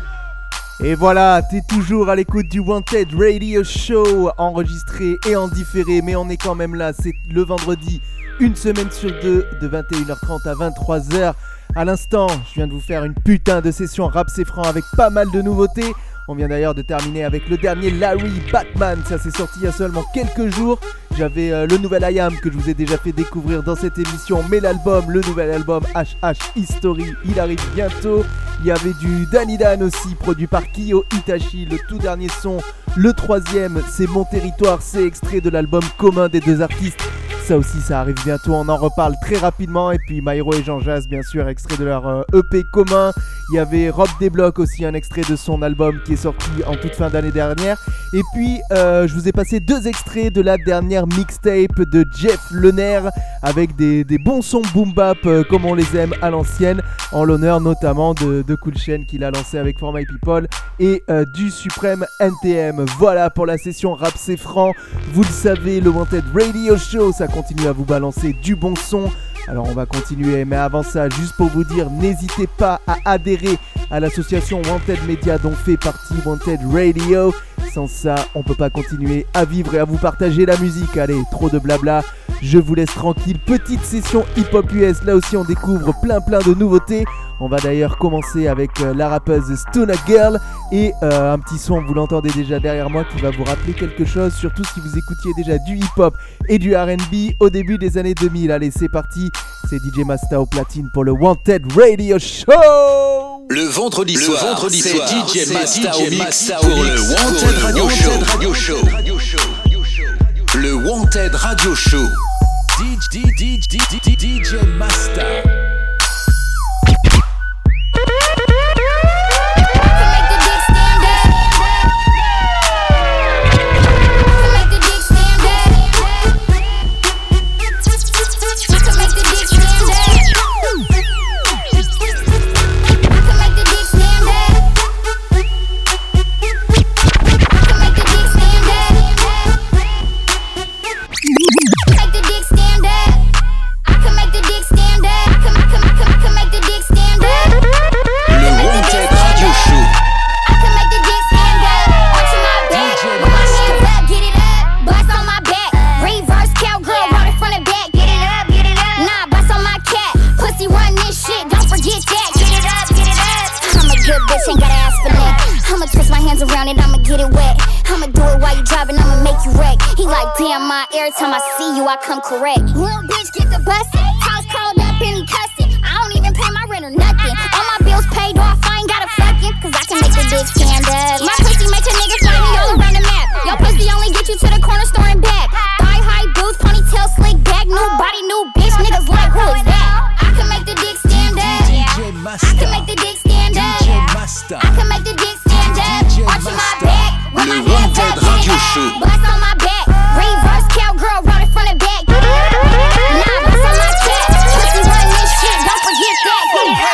Et voilà, t'es toujours à l'écoute du Wanted Radio Show, enregistré et en différé, mais on est quand même là, c'est le vendredi, une semaine sur deux, de vingt et une heures trente à vingt-trois heures. À l'instant, je viens de vous faire une putain de session rap c'est franc avec pas mal de nouveautés. On vient d'ailleurs de terminer avec le dernier Larry Batman, ça s'est sorti il y a seulement quelques jours. J'avais euh, le nouvel I Am que je vous ai déjà fait découvrir dans cette émission, mais l'album, le nouvel album H H History, il arrive bientôt. Il y avait du Danny Dan aussi, produit par Kiyo Itachi, le tout dernier son. Le troisième, c'est Mon Territoire, c'est extrait de l'album commun des deux artistes. Ça aussi, ça arrive bientôt, on en reparle très rapidement. Et puis Myro et Jean Jazz, bien sûr, extrait de leur euh, E P commun. Il y avait Rob Desblocs aussi, un extrait de son album qui est sorti en toute fin d'année dernière. Et puis, euh, je vous ai passé deux extraits de la dernière mixtape de Jeff Lener avec des, des bons sons boom bap euh, comme on les aime à l'ancienne, en l'honneur notamment de, de Cool Chain qu'il a lancé avec For My People et euh, du Supreme N T M. Voilà pour la session rap c'est franc. Vous le savez, le Wanted Radio Show, ça continue à vous balancer du bon son. Alors on va continuer, mais avant ça, juste pour vous dire, n'hésitez pas à adhérer à l'association Wanted Media dont fait partie Wanted Radio. Sans ça, on peut pas continuer à vivre et à vous partager la musique. Allez, trop de blabla, je vous laisse tranquille. Petite session hip-hop U S, là aussi on découvre plein plein de nouveautés. On va d'ailleurs commencer avec euh, la rappeuse Stuna Girl et euh, un petit son, vous l'entendez déjà derrière moi, qui va vous rappeler quelque chose, surtout si vous écoutiez déjà du hip-hop et du R and B au début des années deux mille. Allez, c'est parti, c'est D J Masta au platine pour le Wanted Radio Show. Le vendredi le soir, vendredi c'est soir, D J Masta au mix pour pour le Wanted Radio Show. Radio Show. Le Wanted Radio Show. D J Masta. Every time I see you, I come correct. Little bitch get the bustin', house called up and he cussin'. I don't even pay my rent or nothing. All my bills paid off, I ain't gotta fuckin', cause I can make the dick stand up. My pussy make a nigga find me all around the map. Your pussy only get you to the corner store and back. Thigh high boots, ponytail slick back, new body, new bitch. Niggas like, who is that? I can make the dick stand up. I can make the dick stand up. I can make the dick stand up. Arching my back, with my hands up, Radio Show. Bust on my back, reverse cowgirl, run it from the back. Nah, bust on my cat, pussy run this shit, don't forget that.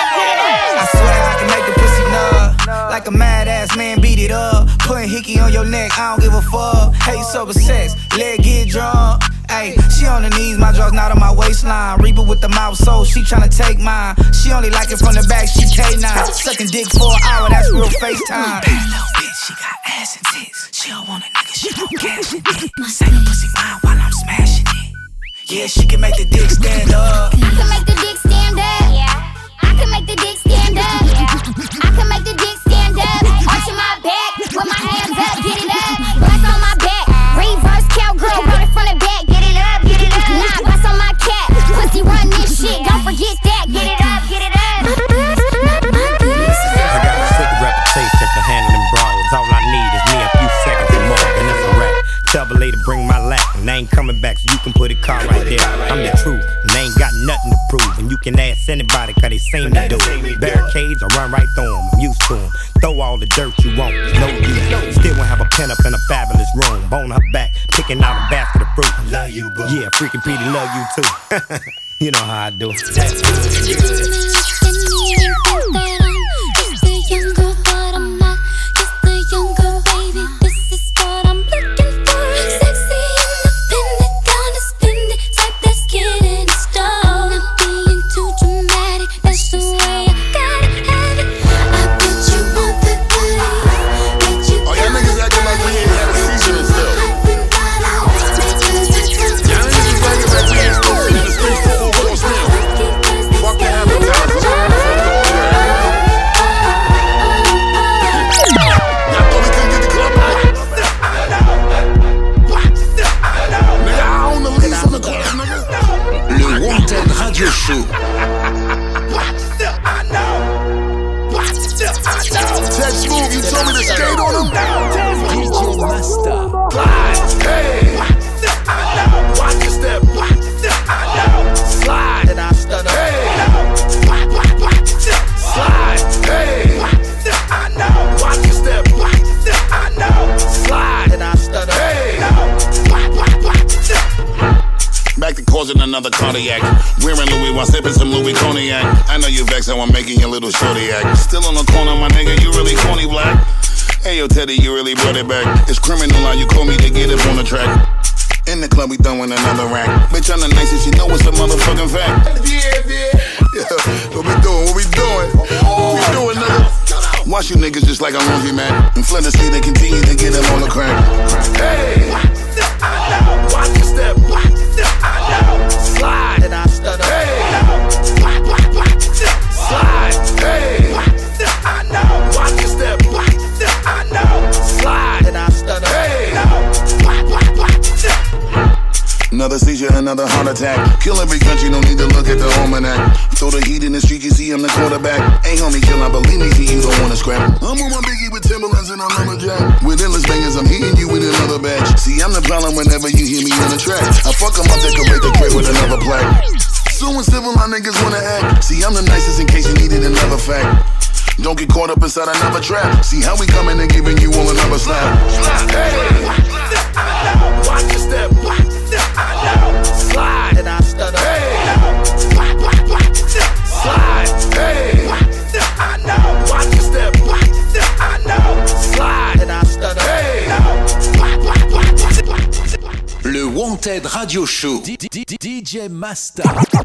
I swear I can make the pussy nut, like a mad ass man, beat it up. Putting hickey on your neck, I don't give a fuck. Hate sober sex, leg get drunk. Ayy, she on her knees, my draw's not on my waistline. Reaper with the mouth, so she tryna take mine. She only like it from the back, she K nine. Sucking dick for an hour, that's real FaceTime. Bad little bitch, she got ass and tits. She don't want a nigga, she don't cash it. Say the pussy mine while I'm smashing it. Yeah, she can make the dick stand up. I can make the dick stand up. Yeah. I can make the dick stand up. Yeah. I can make the dick stand up. Arching my back, with my hands up, get it up. Bust on my back, reverse cowgirl, run it from the back. Get it up, get it up. Nah, bust on my cat, pussy run car right there. I'm the truth, and they ain't got nothing to prove. And you can ask anybody, cause they seen me do it. Barricades, I run right through them, I'm used to them. Throw all the dirt you want, no use. Still won't have a pen up in a fabulous room. Bone her back, picking out a basket of fruit. I love you, boo. Yeah, freaking Petey, love you too. You know how I do. That's good. Another cardiac. Wearing Louis while sipping some Louis Cognac. I know you vex how I'm making your little shorty act. Still on the corner, my nigga, you really corny black. Hey yo, Teddy, you really brought it back. It's criminal how you call me to get it on the track. In the club, we throwing another rack. Bitch, I'm the nicest, you know it's a motherfucking fact. Yeah, yeah. Yeah, what we doing? What we doing? What we doing, nigga? Watch you niggas just like a laundry mat. And Flinders Street, they continue to get them on the crack. Hey, watch your step. Slide and I stutter. Hey, slide. Hey, I know. Watch your step. I know. Slide and I stutter. Hey, another seizure, another heart attack. Kill every country, no need to look at the almanac. Throw the heat in the street, you see I'm the quarterback. Ain't homie kill, I believe me, see you don't wanna scrap. I'm on my biggie with Timberlands and I'm lumberjack. With endless bangers, I'm hitting you with another batch. See, I'm the problem whenever you hear me on the track. I fuck them up, decorate the crib with another plaque. Suing civil, my niggas wanna act. See, I'm the nicest in case you needed another fact. Don't get caught up inside another trap. See how we coming and giving you all another slap. Hey, watch your step. Slide and I stutter. Hey, slide. Hey, I know. Watch your step. I know. Slide and I stutter. Hey. Le Wanted Radio Show. D J Masta.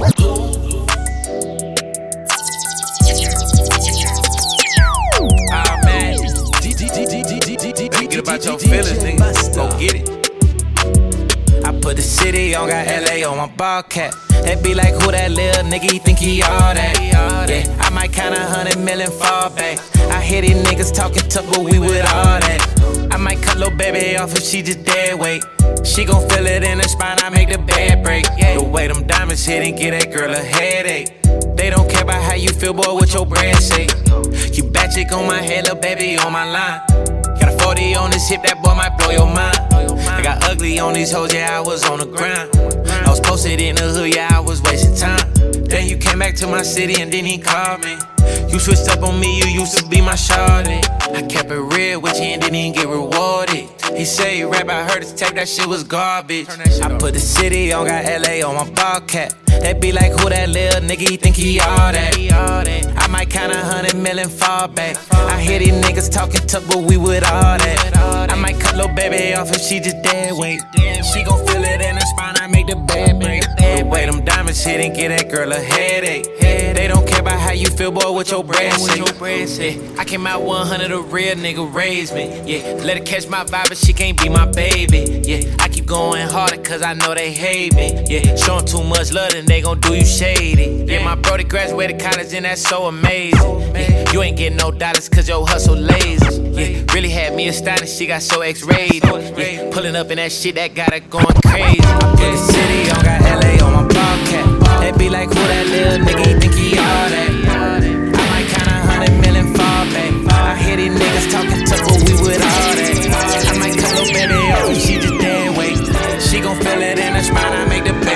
Ah man, get about your feelings, nigga. Go get it. I put the city on, got L A on my ball cap. That be like, who that little nigga, he think he all that? Yeah, I might count a hundred million fall back. I hear these niggas talking tough, but we with all that. I might cut little baby off if she just dead weight. She gon' feel it in her spine, I make the bed break. The way them diamonds hit and get that girl a headache. They don't care about how you feel, boy, what your bread say. You bat chick on my head, little baby on my line. Got a forty on this hip, that boy might blow your mind. I got ugly on these hoes, yeah, I was on the grind. I was posted in the hood, yeah, I was wasting time. Then you came back to my city and then he called me. You switched up on me, you used to be my shawty. I kept it real with you and didn't even get rewarded. He say you rap, I heard his tape, that shit was garbage. I put the city on, got L A on my ball cap. That be like, who that little nigga, he think he all that? I might count a hundred million fall back. I hear these niggas talking tough, but we with all that. I might cut little baby off if she just dead weight. She gon' feel it in her spine, I make the bed break. The way them diamonds hit and get that girl a headache. They don't care about how you feel, boy, what your bread say. I came out one hundred, a real nigga raised me. Yeah, let her catch my vibe, but she can't be my baby. Yeah, I keep going harder cause I know they hate me. Yeah, showing too much love, then they gon' do you shady. Yeah, my brody graduated college and that's so amazing. Yeah, you ain't getting no dollars cause your hustle lazy. Yeah, really had me astonished, she got so X-rated. Yeah, pulling up in that shit that got her going crazy. I put the city on, got L A on my ball cap. That be like, who that little nigga, he think he all that? I might count a hundred million fall back. I hear these niggas talking tough, but we with all that. I might cut little baby off, she just dead weight. She gon' feel it in her spine, I make the bed.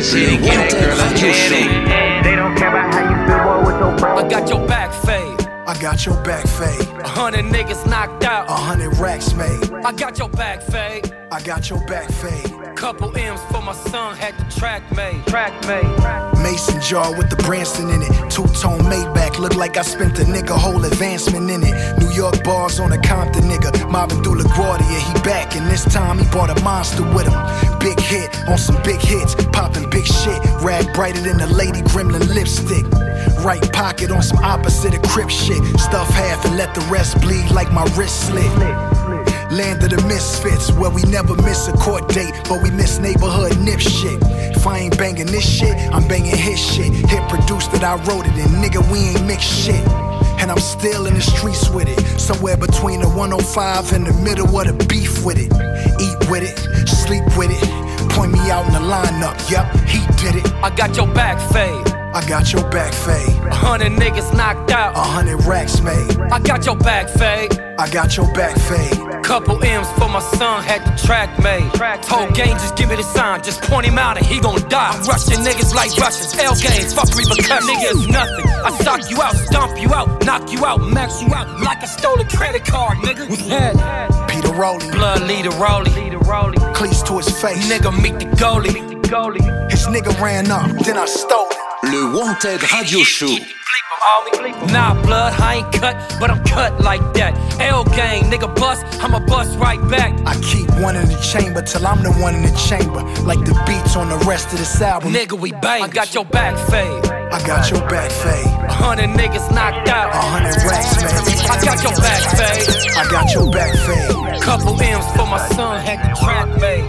Le Wanted Radio Show. They don't care about how you feel, boy, with your brain. I got your back fade. I got your back fade. A hundred niggas knocked out. A hundred racks made. I got your back fade. I got your back fade. Couple M's for my son, had the track made. Track made. Mason jar with the Branson in it. Two-tone Maybach, look like I spent the nigga whole advancement in it. New York bars on a Compton nigga. Mobbing through LaGuardia, he back. And this time he brought a monster with him. Big hit on some big hits. Popping big shit. Rag brighter than the Lady Gremlin lipstick. Right pocket on some opposite of Crip shit. Stuff half and let the rest bleed like my wrist slit. Land of the misfits, where we never miss a court date, but we miss neighborhood nip shit. If I ain't banging this shit, I'm banging his shit. Hit produced that I wrote it, and nigga, we ain't mixed shit. And I'm still in the streets with it, somewhere between the one oh five and the middle of the beef with it. Eat with it, sleep with it, point me out in the lineup, yup, he did it. I got your back fade. I got your back fade. A hundred niggas knocked out. A hundred racks made. I got your back fade. I got your back fade. Couple M's for my son, had the track made. Whole game, just give me the sign, just point him out and he gon' die. I'm rushing niggas like Russians, L games, fuck repercussions. Niggas nothing. I sock you out, stomp you out, knock you out, max you out like I stole a credit card, nigga. Head. Peter Rowley, blood leader Rowley, cleats to his face. Nigga meet the goalie. His nigga ran up, then I stole it. Le Wanted Radio Show. Nah, blood, I ain't cut, but I'm cut like that. L gang, nigga bust, I'ma bust right back. I keep one in the chamber till I'm the one in the chamber. Like the beats on the rest of this album. Nigga, we bang. I got your back fade. I got your back fade. A hundred niggas knocked out. A hundred racks made. I got your back fade. I got your back fade. Couple M's for my son, had the track made.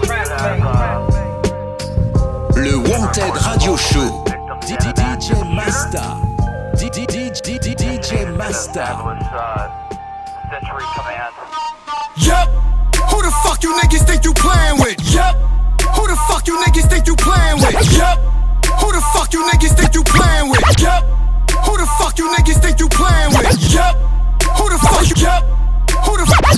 Le Wanted Radio Show. D J Masta. D J Masta. Yup. Who the fuck you niggas think you playing with? Yup. Who the fuck you niggas think you playing with? Yup. Who the fuck you niggas think you playing with? Yup. Who the fuck you niggas think you playing with? Yup. Who the fuck you? Yup. Who the fuck?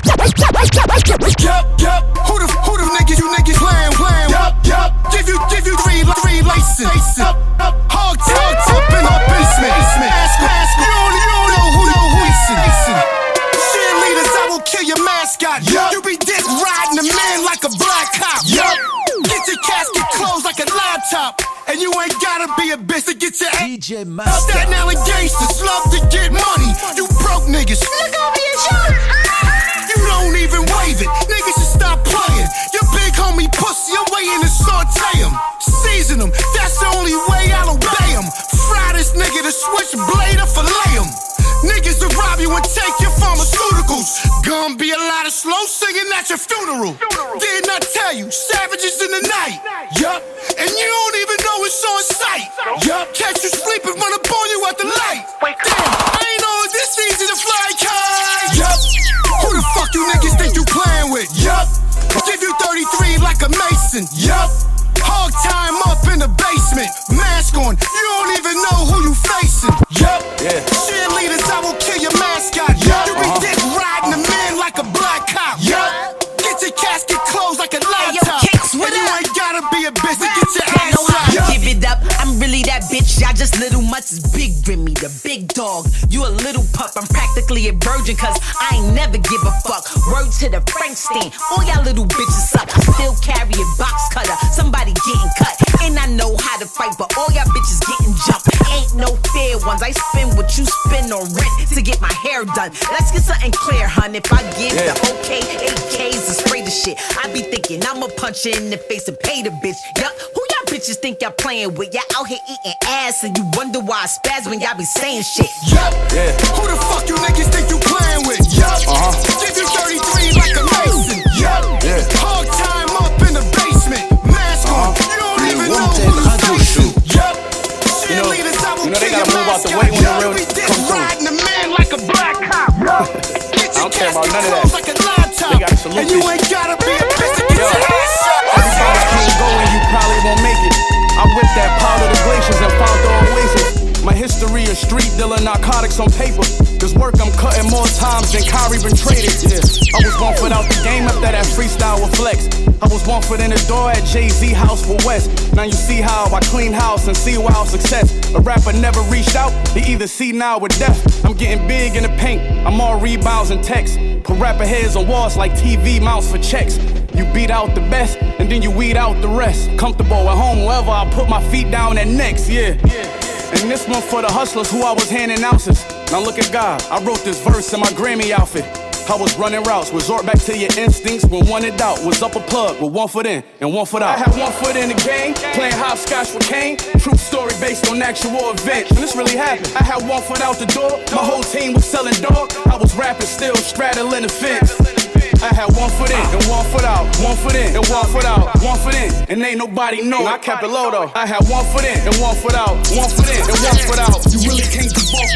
Yup, yup. Who the who the niggas you niggas playing, playing? Yup, yup. Give you give you three three license. Up, up. Hog hog up in the basement. Ask ask you don't you don't know who know who listen. Cheerleaders, I will kill your mascot. Yup. You be dick riding a man like a black cop. Yup. Get your casket closed like a laptop. And you ain't gotta be a bitch to get your D J Masta. Staten Island gangsters love to get money. You broke niggas. Look over your shoulder. You don't even wave it. Niggas should stop playing. Your big homie pussy, I'm waiting to saute him. Season him. That's the only way I'll obey him. Fry this nigga to switch blade or fillet him. Niggas will rob you and take your pharmaceuticals. Gonna be a lot of slow singing at your funeral. Didn't I tell you? Savages in the night. Yup. And you don't even know it's on sight. Yup. Catch you sleeping, run up on you at the light. Damn, I ain't know it's this easy to fly kite. Yup. Who the fuck you niggas think you playing with? Yup. Give you thirty-three like a Mason. Yup. Hog time up in the basement. Mask on, you don't even know who you facing. Yup. Yeah. Cheerleaders, I will kill your mascot. Yup. You be uh-huh. dick riding a man like a black cop. Yup. Get your casket closed like a laptop. Hey, yo, and you ain't gotta be a bitch to get your ass know how to give it up. I'm really that bitch. Y'all just little mutts is big Remy, the big dog. You a little pup. I'm practically a virgin, cause I ain't never give a fuck. Word to the Frankenstein. All y'all little bitches suck. I still carry a box cutter. Somebody getting cut. And I know how to fight, but all y'all bitches getting jumped. Ain't no fair ones. I spend what you spend on rent to get my hair done. Let's get something clear, hun. If I give yeah. the okay, eight K's to spray the shit, I be thinking I'ma punch her in the face and pay the bitch. Yup, who y'all bitches think y'all playing with? Y'all out here eating ass and you wonder why I spaz when y'all be saying shit. Yup, yeah. Who the fuck you niggas think you playing with? Yup, uh-huh. Give you thirty-three like a Mason. Yup, yeah. Hog time up in the basement. Mask on, uh-huh. You don't Le even know who's facing. Yup, cheerleaders, I will you know they gotta move out the way when the real come through. Riding a man like a black cop. Get your I don't care about none of that. Like a laptop. They gotta salute and you ain't gotta be a bitch to get your ass shot. Everybody can't go and you probably won't make it. I whipped that part of the glaciers and found the oasis. My history history of street dealing narcotics on paper. This work I'm cutting more times than Kyrie been traded. Yeah, I was one foot out the game after that freestyle with Flex. I was one foot in the door at Jay-Z house for West. Now you see how I clean house and see wild success. A rapper never reached out, he either see now or death. I'm getting big in the paint, I'm all rebounds and texts. Put rapper heads on walls like T V mounts for checks. You beat out the best, and then you weed out the rest. Comfortable at home, wherever I put my feet down at next, yeah. And this one for the hustlers who I was handing ounces. Now look at God, I wrote this verse in my Grammy outfit. I was running routes, resort back to your instincts when one in doubt. Was up a plug with one foot in and one foot out. I had one foot in the game, playing hopscotch with Kane. True story based on actual events, and this really happened. I had one foot out the door, my whole team was selling dog. I was rapping still, straddling the fence. I had one foot in and one foot out, one foot in and one foot out, one foot in, and ain't nobody know. I kept it low though. I had one foot in and one foot out, one foot in and one foot out. You really can't do both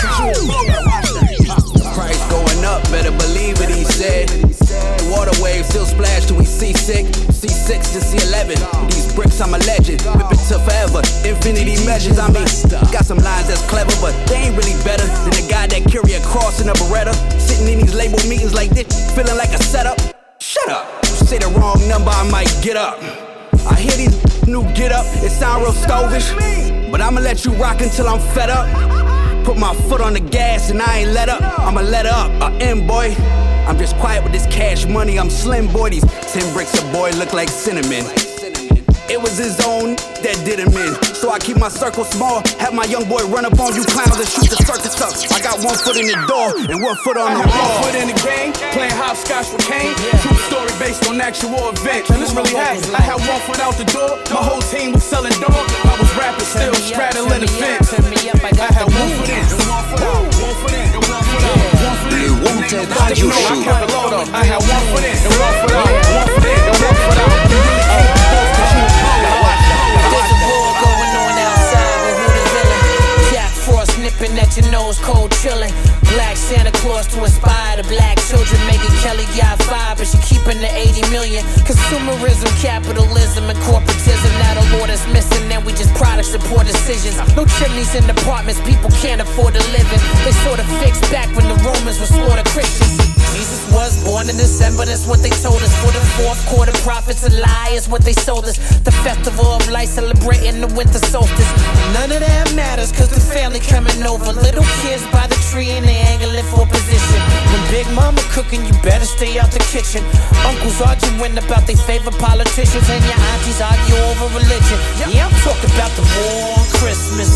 control. Price going up, better believe it, he said. The water waves still splash till we seasick. C six to C eleven. These bricks, I'm a legend. Whip it to forever. Infinity measures, I mean. Got some lines that's clever, but they ain't really better than the guy that carry a cross in a Beretta. Sitting in these label meetings like this, feeling like a setup. Shut up. You say the wrong number, I might get up. I hear these new get up, it sound real stovish, but I'ma let you rock until I'm fed up. Put my foot on the gas and I ain't let up. I'ma let up, I am boy. I'm just quiet with this cash money, I'm slim boy. These ten bricks a boy look like cinnamon. It was his own that did him in. So I keep my circle small, have my young boy run up on you clowns and shoot the circus up. I got one foot in the door and one foot on the wall. One foot in the game, playing hopscotch with Kane. True story based on actual events, and this really happened. I had one foot out the door, my whole team was selling dog. I was rapping still, straddling the fence. I had one foot in and one foot out, one foot in and one foot out. Le Wanted Radio Show. I had one foot in and one foot out, one foot in and one foot out. You really can't do both control. There's a war going on outside with who the villain. Jack Frost nipping at your nose, cold chillin'. Black Santa Claus to inspire the black children. Megan Kelly got five, but she keeping the eighty million. Consumerism, capitalism, and corporatism. Now the Lord is missing, and we just products and poor decisions. No chimneys in apartments, people can't afford to live in. They sort of fixed back when the Romans were slaughtered Christians. Jesus was born in December, that's what they told us. For the fourth quarter, prophets and liars, what they sold us. The festival of light celebrating the winter solstice. None of that matters, cause the family coming over. Little kids by the tree and they angling for position. When Big Mama cooking, you better stay out the kitchen. Uncles arguing about their favorite politicians, and your aunties argue over religion. Yeah, I'm talking about the war on Christmas.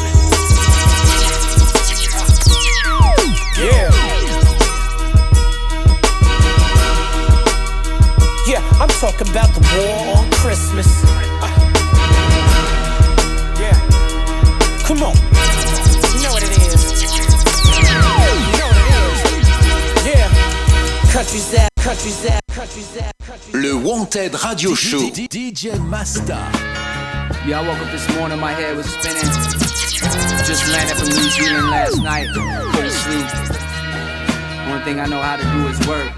Yeah. Yeah, I'm talking about the war on Christmas. Uh, yeah. Come on. You know what it is. You know what it is. Yeah. Country's that, country's that, country's that, country's that. Le Wanted Radio Show. D J Masta. Yeah, I woke up this morning, my head was spinning. Just landed from New Zealand last night. Couldn't sleep. Only thing I know how to do is work.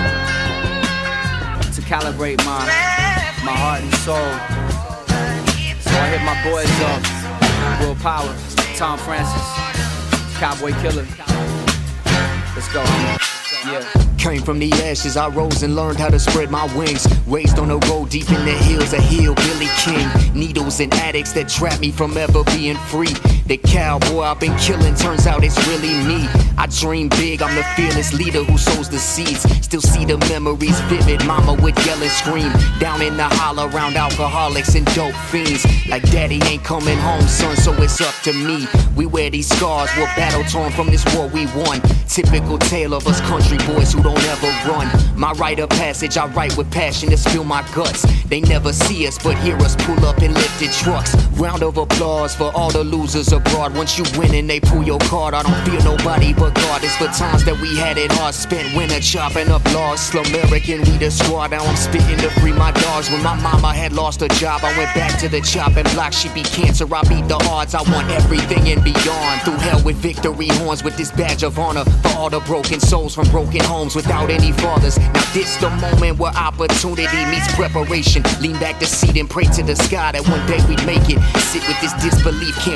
To calibrate my, my heart and soul. So I hit my boys up. Will Power, Tom Francis, Cowboy Killer. Let's go. Yeah. Came from the ashes, I rose and learned how to spread my wings. Raised on a road deep in the hills, a hillbilly king. Needles and addicts that trap me from ever being free. The cowboy I've been killing, turns out it's really me. I dream big, I'm the fearless leader who sows the seeds. Still see the memories vivid, mama would yell and scream. Down in the holler around alcoholics and dope fiends. Like daddy ain't coming home, son, so it's up to me. We wear these scars, we're battle torn from this war we won. Typical tale of us country boys who don't ever run. My rite of passage, I write with passion to spill my guts. They never see us, but hear us pull up in lifted trucks. Round of applause for all the losers abroad. Once you win and they pull your card, I don't fear nobody but God. It's for times that we had it hard spent. Winter chopping up laws, slow American, we the squad. Now I'm spitting to free my dogs. When my mama had lost her job, I went back to the chopping block. She beat cancer, I beat the odds. I want everything and beyond. Through hell with victory horns, with this badge of honor for all the broken souls from broken homes without any fathers. Now this the moment where opportunity meets preparation. Lean back the seat and pray to the sky that one day we'd make it. Sit with this disbelief, can't believe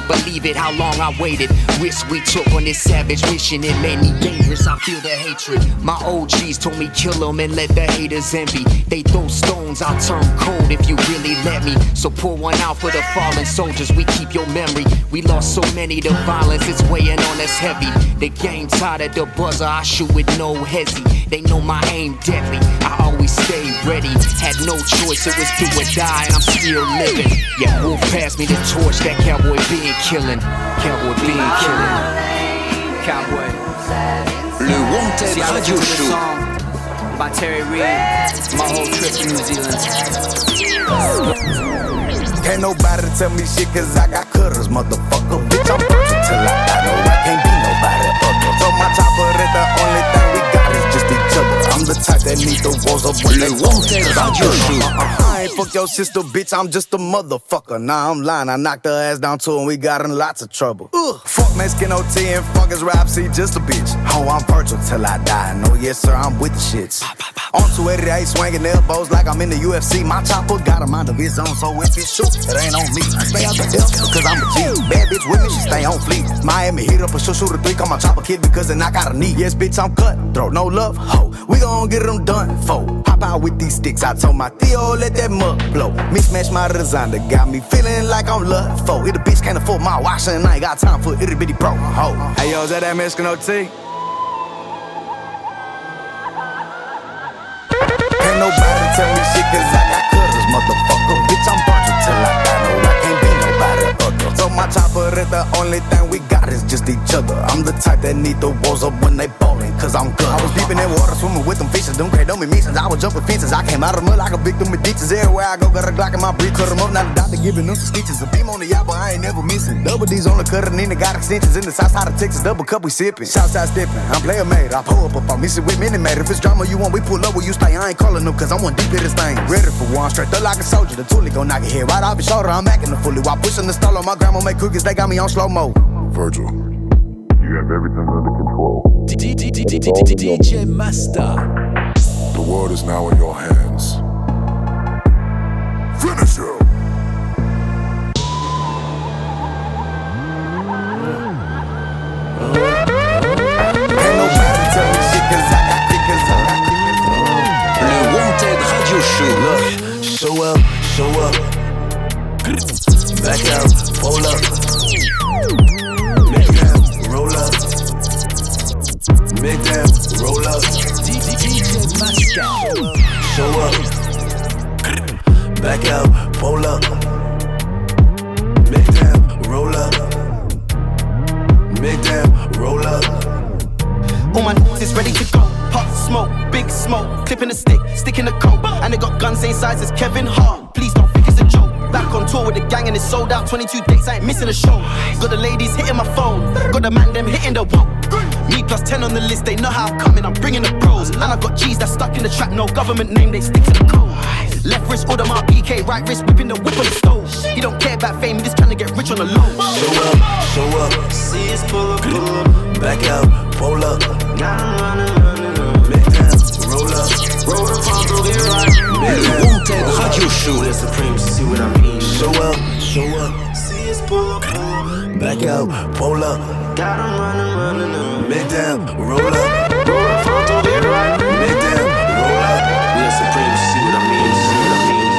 it, how long I waited. Risk we took on this savage mission, it made me dangerous, I feel the hatred. My O Gs told me kill them and let the haters envy. They throw stones, I'll turn cold if you really let me. So pour one out for the fallen soldiers, we keep your memory. We lost so many to violence, it's weighing on us heavy. The game tied at the buzzer, I shoot with no hesi. They know my aim deadly, I always stay ready. Had no choice, it was do or die, and I'm still living. Yeah, Wolf passed me the torch, that cowboy being killing. Cowboy being killing. Cowboy. Le Wanted Radio Show. By Terry Reid, my whole trip to New Zealand. Can't nobody tell me shit cause I got cutters, motherfucker. Bitch, I'm perfect till I die, no, I can't be nobody other. So my chopper is the only thing we got is just each other. I'm the type that need the walls up when they want it. I ain't fuck your sister, bitch, I'm just a motherfucker. Nah, I'm lying, I knocked her ass down too and we got in lots of trouble. Ugh. Fuck Mexican O T and fuck his rap, see, just a bitch. Oh, I'm Virgil till I die, no, yes sir, I'm with the shits. On two eighty-eight, swinging elbows like I'm in the U F C. My chopper got a mind of his own, so if it shoot, it ain't on me. I stay out the hell, cause I'm a G. Bad bitch with me, she stay on fleek. Miami hit up a shoot, shoot a three, call my chopper kid because then I got a knee. Yes, bitch, I'm cut, throw no love, ho. We gon' get them done, fo. Hop out with these sticks, I told my Theo, let that mud blow. Mismatch my design that got me feeling like I'm love, fo. If the bitch can't afford my wash, and I ain't got time for itty bitty bro, ho. Hey, yo, is that that Mexican O T? Can't nobody tell me shit cause I got cutters, motherfucker. Bitch, I'm Virgil till I die, no, I can't be nobody other. So my chopper is the only thing we got is just each other. I'm the type that need the walls up when they ballin', cause I'm good. I was deep in that water, swimming with them fishes, them don't me since I was jumping fences. I came out of the mud like a victim of ditches. Everywhere I go, got a Glock in my breath, cut them up, now the doctor giving them some stitches. A beam on the yacht, but I ain't never missing. Double D's on the cutter, and then they got extensions in the south side of Texas, double cup we sippin'. Southside steppin', I'm player made, I pull up up, I'm missing with mini made. If it's drama you want, we pull up where you stay, I ain't calling them, cause I'm one deep in this thing. Ready for one, straight up like a soldier, the toolie gon' knock your head right off your shoulder. I'm acting the fully while pushing the stall on my grandma make cookies, they got me on slow mo. Virgil, you have everything under control. D J Master. The world is now in your hands. Finish him. Ain't nobody tell me shit cause I got it, cause I got it. Le Wanted Radio Show. Look, show up, show up. Back out, pull up. Make them roll up. Make them roll up. D J Master. Show up. Back out, pull up. Make them roll up. Make them roll up. All my n***s is ready to go. Hot smoke, big smoke, clipping the stick, sticking the coat. And they got guns same size as Kevin Hart. Please don't think it's a joke. Back on tour with the gang and it's sold out. twenty-two dates, I ain't missing a show. Got the ladies hitting my phone, got the man them hitting the whoa. Me plus ten on the list, they know how I'm coming, I'm bringing the pros. And I got G's that's stuck in the trap, no government name, they stick to the code. Left wrist, order my P K, right wrist, whipping the whip on the stove. He don't care about fame, he just trying to get rich on the low. Show up, show up. See us pull up, pull up. Back out, pull up. Got him running, running, running. Make them roll up. Roll the front, roll it right. Le Wanted Radio Show. The Supreme, see what I mean. Show up, show up. See us pull up, pull up. Back out, pull up. Got him running, running, running. Make them roll up. Roll the front, roll it right. Make them roll up. We are Supreme, see what I mean. See what I mean.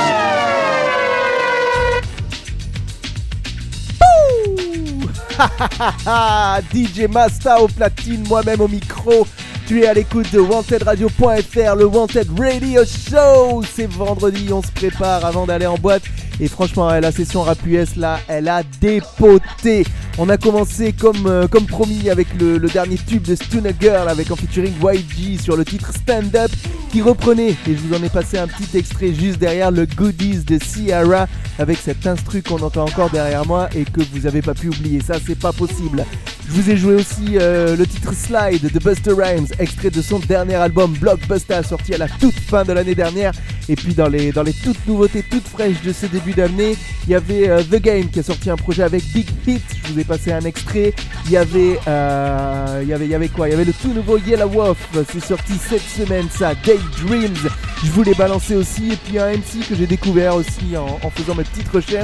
D J Masta au platine, moi-même au micro. Tu es à l'écoute de Wanted Radio point F R, le Wanted Radio Show. C'est vendredi, on se prépare avant d'aller en boîte. Et franchement, la session rap U S là, elle a dépoté. On a commencé comme, euh, comme promis avec le, le dernier tube de Stunner Girl avec en featuring Y G sur le titre Stand Up qui reprenait, et je vous en ai passé un petit extrait juste derrière, le Goodies de Ciara avec cet instru qu'on entend encore derrière moi et que vous avez pas pu oublier. Ça, c'est pas possible. Je vous ai joué aussi euh, le titre Slide de Busta Rhymes, extrait de son dernier album Blockbuster, sorti à la toute fin de l'année dernière. Et puis dans les, dans les toutes nouveautés, toutes fraîches de ce début d'année, il y avait euh, The Game qui a sorti un projet avec Big Hit. Je vous ai passé un extrait. Il y avait, euh, il y avait, il y avait quoi ? Il y avait le tout nouveau Yellow Wolf. C'est sorti cette semaine, ça. Daydreams. Je vous l'ai balancé aussi. Et puis un M C que j'ai découvert aussi en, en faisant mes petites recherches.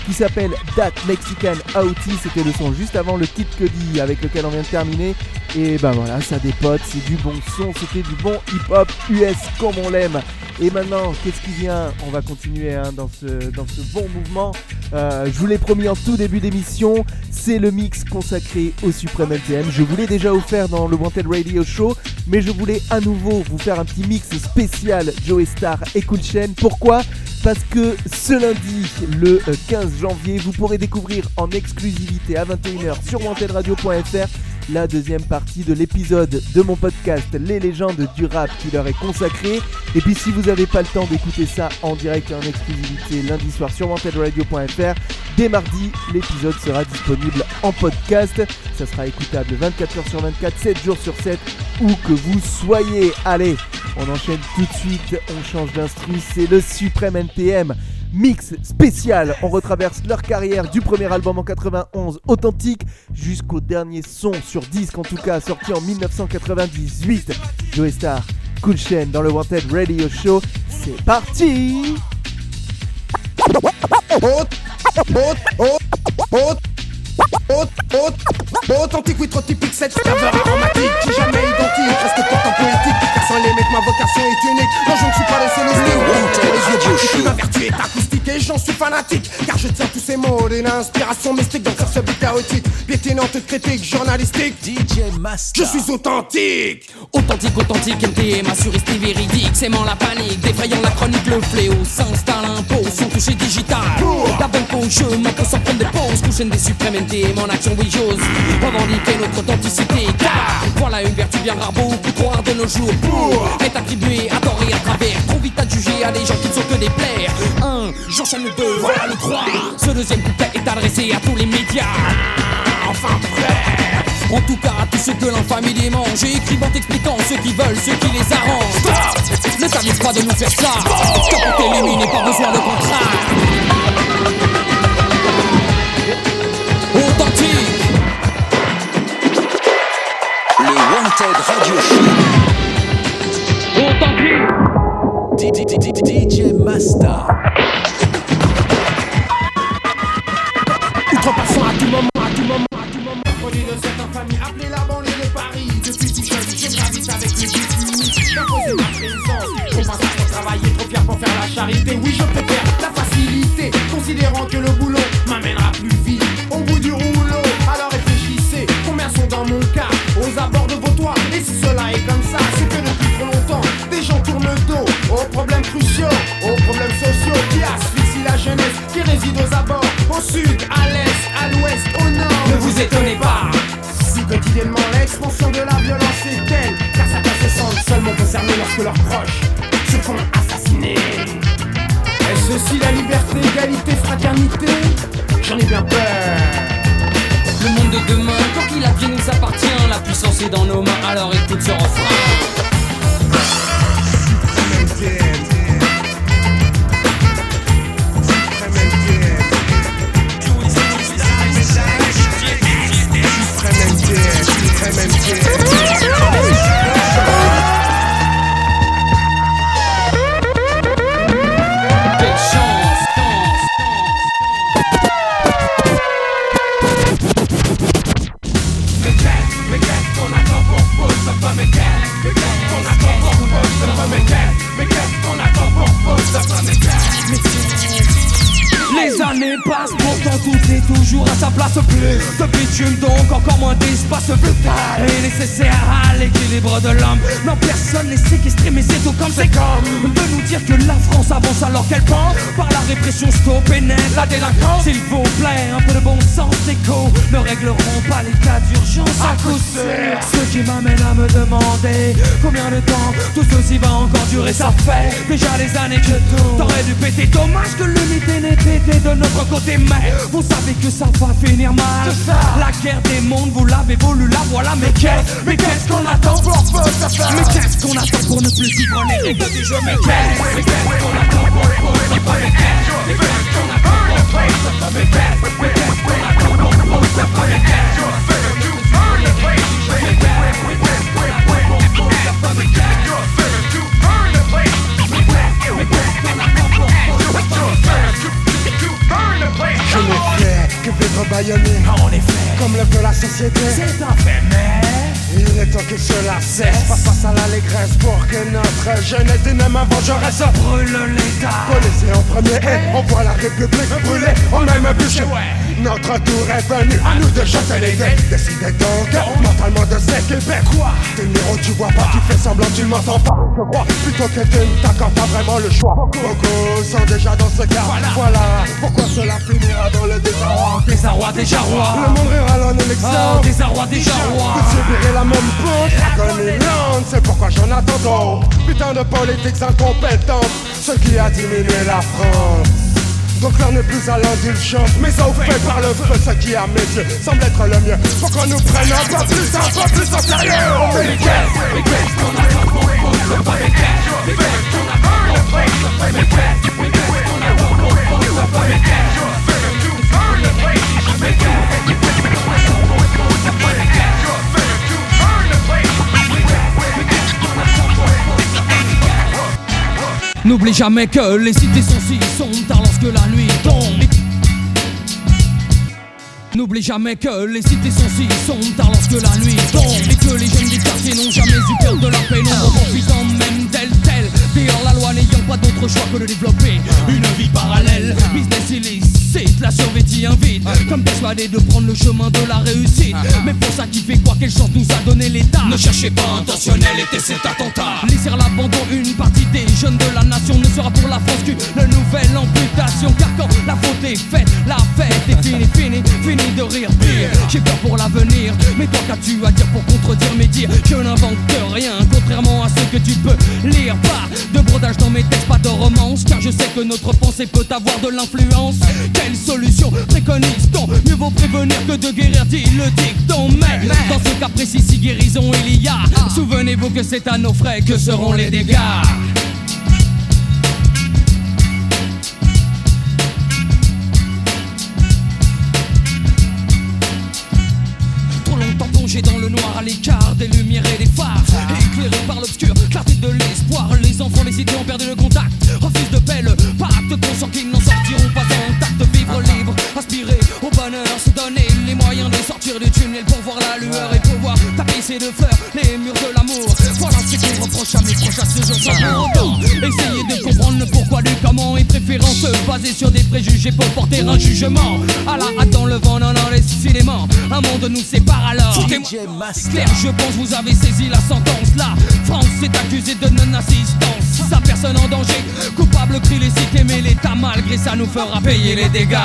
qui s'appelle That Mexican Outie. C'était le son juste avant le Kid Cudi avec lequel on vient de terminer. Et ben voilà, ça dépote, c'est du bon son, c'était du bon hip-hop U S comme on l'aime. Et maintenant, qu'est-ce qui vient? On va continuer hein, dans, ce, dans ce bon mouvement. Euh, je vous l'ai promis en tout début d'émission, c'est le mix consacré au Supreme N T M. Je vous l'ai déjà offert dans le Wanted Radio Show, mais je voulais à nouveau vous faire un petit mix spécial Joey Starr et Cool Chain. Pourquoi ? Parce que ce lundi, le quinze janvier, vous pourrez découvrir en exclusivité à vingt et une heures sur wanted radio point f r la deuxième partie de l'épisode de mon podcast Les légendes du rap qui leur est consacré. Et puis si vous n'avez pas le temps d'écouter ça en direct et en exclusivité lundi soir sur wanted radio point f r, dès mardi, l'épisode sera disponible en podcast. Ça sera écoutable vingt-quatre heures sur vingt-quatre, sept jours sur sept, où que vous soyez. Allez, on enchaîne tout de suite, on change d'instru, c'est le Supreme N T M. Mix spécial, on retraverse leur carrière du premier album en quatre-vingt-onze, Authentique, jusqu'au dernier son sur disque en tout cas, sorti en dix-neuf cent quatre-vingt-dix-huit. Joey Starr, Cool Chain dans le Wanted Radio Show, c'est parti. Authentique, oui, trop typique, cette ferveur aromatique qui jamais identique, reste pourtant poétique. Personne les mecs, ma vocation est unique. Non, je ne suis pas le seul style. Ma vertu est acoustique et j'en suis fanatique, car je tiens tous ces mots d'une inspiration mystique dans ce beat chaotique, piétinante critique journalistique. D J Master, je suis authentique. Authentique, authentique, N T M, assuriste et véridique. S'aimant la panique, défrayant la chronique, le fléau s'installe impôt, son toucher digital. La bonne peau, je m'en sans prendre des pauses. Couchaine des suprêmes N T M en action, oui j'ose revendiquer notre authenticité, car voilà une vertu bien rare, beaucoup trop rare de nos jours, pour être attribuée à tort et à travers. Trop vite à juger à des gens qui ne sont que des plaires. Un, j'enchaîne le deux, voilà le trois. Ce deuxième couplet est adressé à tous les médias. Enfin frère, en tout cas à tous ceux que l'infamie démange, écrivant, expliquant ceux qui veulent, ceux qui les arrangent. Stop, ne t'amuse pas de nous faire ça, car pour t'éliminer pas besoin de contrat. Authentique, le Wanted Radio Show. Authentique, D J Master. Outrepassant à tout moment, à tout moment, à tout moment. Produit de cette infamie, appelez la banlieue de Paris. Depuis tout jeune, je gravite avec les buts. Imposer ma présence, on passe à travailler, trop fier pour faire la charité. Oui, je préfère la facilité, considérant que le boulot m'amènera plus vite au bout du rouleau. Alors réfléchissez, combien sont dans mon cas aux abords de vos toits. Et si cela est comme ça, c'est que depuis trop longtemps des gens tournent le dos aux problèmes cruciaux, aux problèmes sociaux qui asphyxient la jeunesse qui réside aux abords, au sud, à l'est, à l'ouest, au nord. Ne vous étonnez pas si quotidiennement l'expansion de la violence est telle, car certains se sentent seulement concernés lorsque leurs proches se font assassiner. Est-ce ceci la liberté, égalité, fraternité? J'en ai bien peur. Le monde de demain, quand qu'il advient, nous appartient. La puissance est dans nos mains, alors écoute ce refrain. Les années passent, pourtant tout est toujours à sa place. Plus de bitume, donc encore moins d'espace vital est nécessaire à l'équilibre de l'homme. Non, personne n'est séquestré, mais c'est tout comme c'est comme de nous dire que la France avance alors qu'elle pense par la répression stop et net la délinquance. S'il vous plaît, un peu de bon sens écho ne régleront pas les cas d'urgence à coup sûr. Ce qui m'amène à me demander combien de temps tout ceci va encore durer. Ça fait déjà des années que tout t'aurais dû péter. Dommage que l'unité n'ait été de notre côté, mais vous savez que ça va finir mal. La guerre des mondes, vous l'avez voulu, la voilà. Mais qu'est-ce, mais qu'est-ce qu'on attend pour Mais qu'est-ce qu'on attend pour ne plus suivre les règles du jeu? Mais qu'est-ce, mais qu'est-ce qu'on attend pour ne pas mais qu'est-ce, mais qu'est-ce qu'on attend pour ne pas mais qu'est-ce, mais qu'est-ce qu'on attend pour ne pas mais qu'est-ce, je être bâillonné. En effet, comme le veut la société. C'est un fait, mais il est temps que cela cesse. Face face à l'allégresse pour que notre jeunesse d'une main vengeresse brûle l'État. Policier en premier et on voit la République brûler au même bûcher. Notre tour est venu, à nous de chanter les dés. Décidez donc mentalement de s'équiper. Quoi? T'es numéro, tu vois pas, tu fais semblant, tu m'entends pas. Je crois plutôt que tu ne t'accordes pas vraiment le choix. Beaucoup sont déjà dans ce cas. Voilà, voilà pourquoi cela finira dans le désarroi. Désarroi déjà roi. Le monde rural en élection. Oh, désarroi déjà roi. Vous subirez la même pente, l'agonie, c'est pourquoi j'en attends donc. Putain de politiques incompétentes, ce qui a diminué la France. Donc l'heure n'est plus à l'indulgence, mais au fait par le feu, ce qui à mes yeux semble être le mieux. Faut qu'on nous prenne un peu plus, un peu plus au sérieux. On fait les caisses, les caisses qu'on a pas pour c'est pas les caisses, les caisses qu'on a pas pour c'est pas les caisses, les caisses qu'on a pas pour c'est pas les caisses. N'oublie jamais que les cités sont si sombres tard lorsque la nuit tombe. N'oublie jamais que les cités sont si sombres tard lorsque la nuit tombe. Et que les jeunes des quartiers n'ont jamais eu peur de la pénombre, profitant même d'elle telle. D'ailleurs la loi n'ayant pas d'autre choix que de développer une vie parallèle. Business illicite, la survêtie invite, comme persuadé de prendre le chemin de la réussite. Mais pour ça qui fait quoi, quelle chance nous a donné l'État. Ne cherchez pas intentionnel, était cet attentat. Laisser à l'abandon une partie des jeunes de la nation ne sera pour la France qu'une nouvelle amputation. Car quand la faute est faite, la fête est finie, finie, finie de rire pire. J'ai peur pour l'avenir, mais toi qu'as-tu à dire pour contredire mes dires? Je n'invente rien, contrairement à ce que tu peux lire. Pas de brodage dans mes textes, pas de romance, car je sais que notre pensée peut avoir de l'influence. Quelle solution préconise-t-on? Mieux vaut prévenir que de guérir, dit le dicton. Mais dans ce cas précis, si guérison il y a, souvenez-vous que c'est à nos frais que seront les dégâts. Dans le noir à l'écart des lumières et des phares, éclairés par l'obscur, clarté de l'espoir. Les enfants des cités ont perdu le contact, refusent de paix le pacte, conscient qu'ils n'en sortiront pas intacts. Vivre libre, aspirer au bonheur, se donner les moyens de sortir du tunnel pour voir la lueur et pouvoir tapisser de fleurs les murs de l'amour. Voilà ce qu'on reproche à mes proches à ce jour sans pour autant essayer de comprendre le pourquoi du comment, et préférant se baser sur des préjugés pour porter un jugement. À la hâte dans le vent, non non décidément un monde nous sépare alors. C'est clair, je pense vous avez saisi la sentence. La France est accusée de non-assistance. Sa personne en danger, coupable crie les cités, mais l'État malgré ça nous fera payer les dégâts.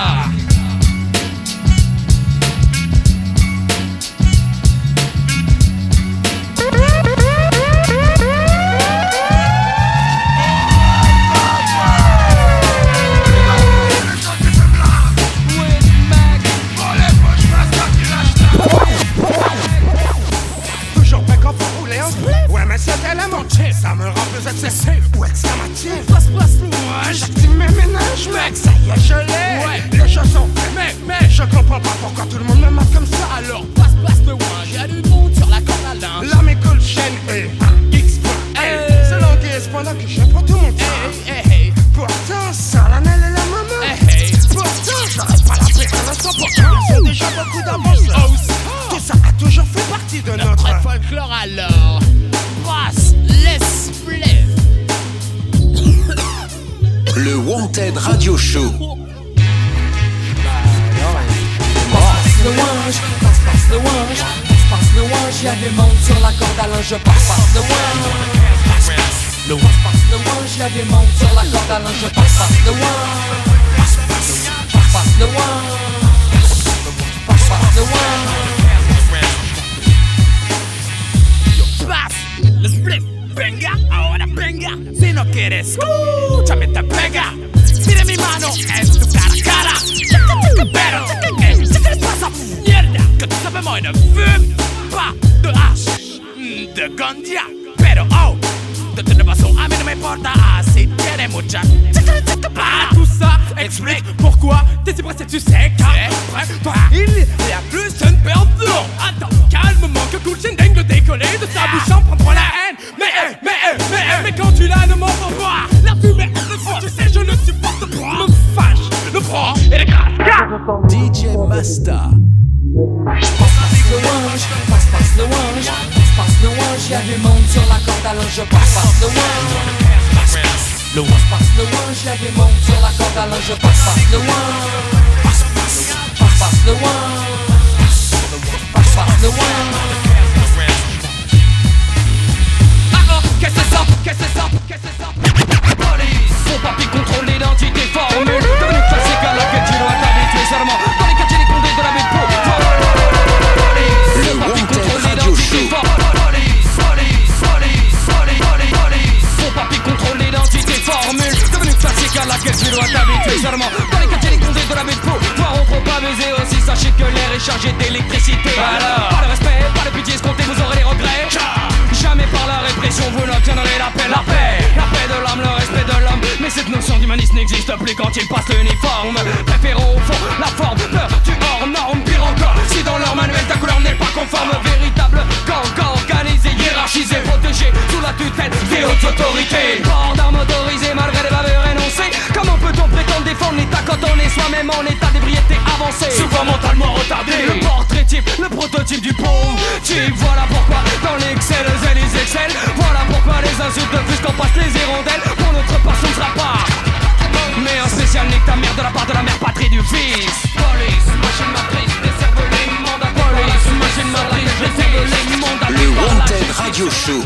Ça me rend plus excessif ou exclamatif. Place, place, moi j'active mes ménages, mec, ça y est, je l'ai. Ouais. Les choses sont faits, mais, mais je comprends pas pourquoi tout le monde me marque comme ça. Alors, place, place, le ouin, y'a du monde sur la corde à linge. La m'écoute chaîne et X point L. C'est l'anguille pendant que je prends tout mon temps. Hey, hey, hey. Pourtant, ça la Nelle et la maman. Hey, hey. Pourtant, j'arrête pas la paix à l'instant. Pourtant, ils ont déjà beaucoup d'avance. Oh, oh. Tout ça a toujours fait partie de notre, notre folklore alors. Brasse, laisse play. Le Wanted Radio Show. Passe le wange, passe, passe le wange, passe, passe le wange, y'a du monde sur la corde à linge, passe, passe le wange. Passe, passe le wange, passe le wange, y'a du monde sur la corde à linge, passe, passe le wange. Passe, passe, passe le wange, passe, passe le wange. Le split, venga, ahora venga. Si no quieres, escúchame, te pega. Mire mi mano, es tu cara a cara. Pero, ¿qué les pasa? Mierda, que tú sabes moi de fume, pas de hache, de ganja. Pero, oh, de toute façon, a mí no me importa. Si tiene mucha. Ah, tout ça explique pourquoi t'es si pressé, tu sais qu'après toi, il y a plus une perdon. Attends, calmement, que cool Shindeng le décoller de sa bouche en prendront la haine. Mais, eh, mais, eh, mais, eh, mais quand tu l'as, ne m'en veux pas. La fumée, le froid, tu sais, je ne supporte pas. Me fâche, le froid et les grâces. D J Masta. Passe le wange, passe passe le wange, passe passe le wange, y'a du monde sur la corde à linge, passe passe le wange. Le wange, passe le wange, y'a du monde sur la corde à linge, passe passe le wange. Passe passe, passe passe le wange, passe passe le wange. Qu'est-ce que c'est ça? Qu'est-ce que c'est ça? Qu'est-ce que c'est ça? Police! Mon papy contrôle l'identité formule. Devenu classique à laquelle tu dois t'habituer seulement. Dans les quartiers, les condés de la baie de Pau. Police! Mon papy contrôle l'identité formule. Police! Police! Police! Police! Police! Mon papy contrôle l'identité formule. Devenu classique à laquelle tu dois t'habituer seulement. Dans les quartiers, les condés de la baie de Pau. Voir on trop amusé aussi, sachez que l'air est chargé d'électricité. Alors, pas de respect, pas de pitié escomptée, vous aurez des regrets. Jamais par la répression vous n'obtiendrez la paix. La paix, la paix de l'âme, le respect de l'homme. Mais cette notion d'humanisme n'existe plus quand il passe l'uniforme. Préférons au fond la forme, peur du hors norme. Pire encore, si dans leur manuel ta couleur n'est pas conforme. Véritable gang organisé, hiérarchisé, protégé sous la tutelle des hautes autorités. Port d'armes autorisées malgré des bavures énoncées. Comment peut-on prétendre défendre l'état quand on est soi-même en état d'ébriété avancé? Souvent mentalement retardé. Le portrait type, le prototype du pauvre type. Voilà pourquoi dans l'excel les excels, voilà pourquoi les insultes plus qu'on passe les hirondelles. Pour notre part ce ne sera pas mais un spécial nique ta mère de la part de la mère patrie du fils. Police, machine matrice, des cervelets mandatés. Police, machine matrice, des cervelets mandatés. Le Wanted Radio Show.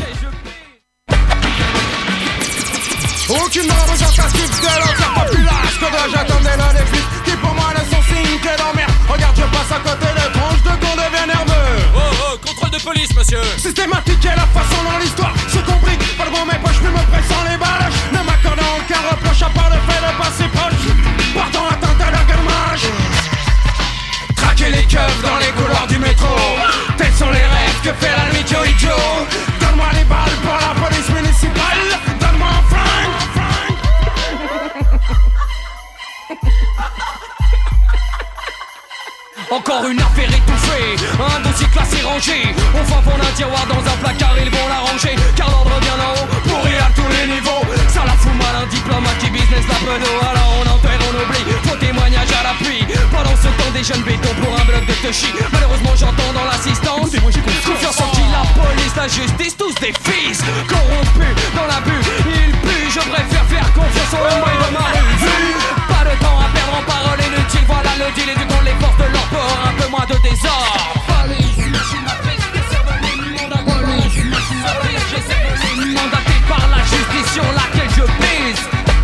Aucune représentative de l'entière populace. Que dois-je attendre là des flics qui pour moi ne sont signes que d'emmerde. Regarde, je passe à côté des tranches de con devient nerveux. Oh oh, contrôle de police monsieur. Systématique et la façon dans l'histoire se complique. Pas devant mes poches, plus me pressant les balles. Ne m'accordant aucun reproche à part le fait de passer proche. Portant atteinte à leur gammage. Traquer les keufs dans les couloirs du métro. Tels sont les rêves que fait la nuit Joey Joe. Donne-moi les balles pour la police municipale. Donne-moi un flingue. Encore une affaire étouffée, un dossier classé rangé. Au fond fond d'un tiroir dans un placard, ils vont la ranger. Car l'ordre vient d'en haut, pourri à tous les niveaux. Ça la fout mal, un diplomate qui business la pedo. Alors on enterre, on oublie, faux témoignage à l'appui. Pendant ce temps des jeunes bétons pour un bloc de touchy. Malheureusement j'entends dans l'assistance confiance en qui la police, la justice, tous des fils corrompus dans l'abus. Ils puent, je préfère faire confiance aux hommes de ma rue. Pas de temps à perdre en paroles inutiles. Voilà le deal et du coup les forces de l'ordre pour un peu moins de désordre. Police, machine matrice, des cervelets mandatés. Police, machine matrice, des cervelets mandatés par la justice sur laquelle je pèse.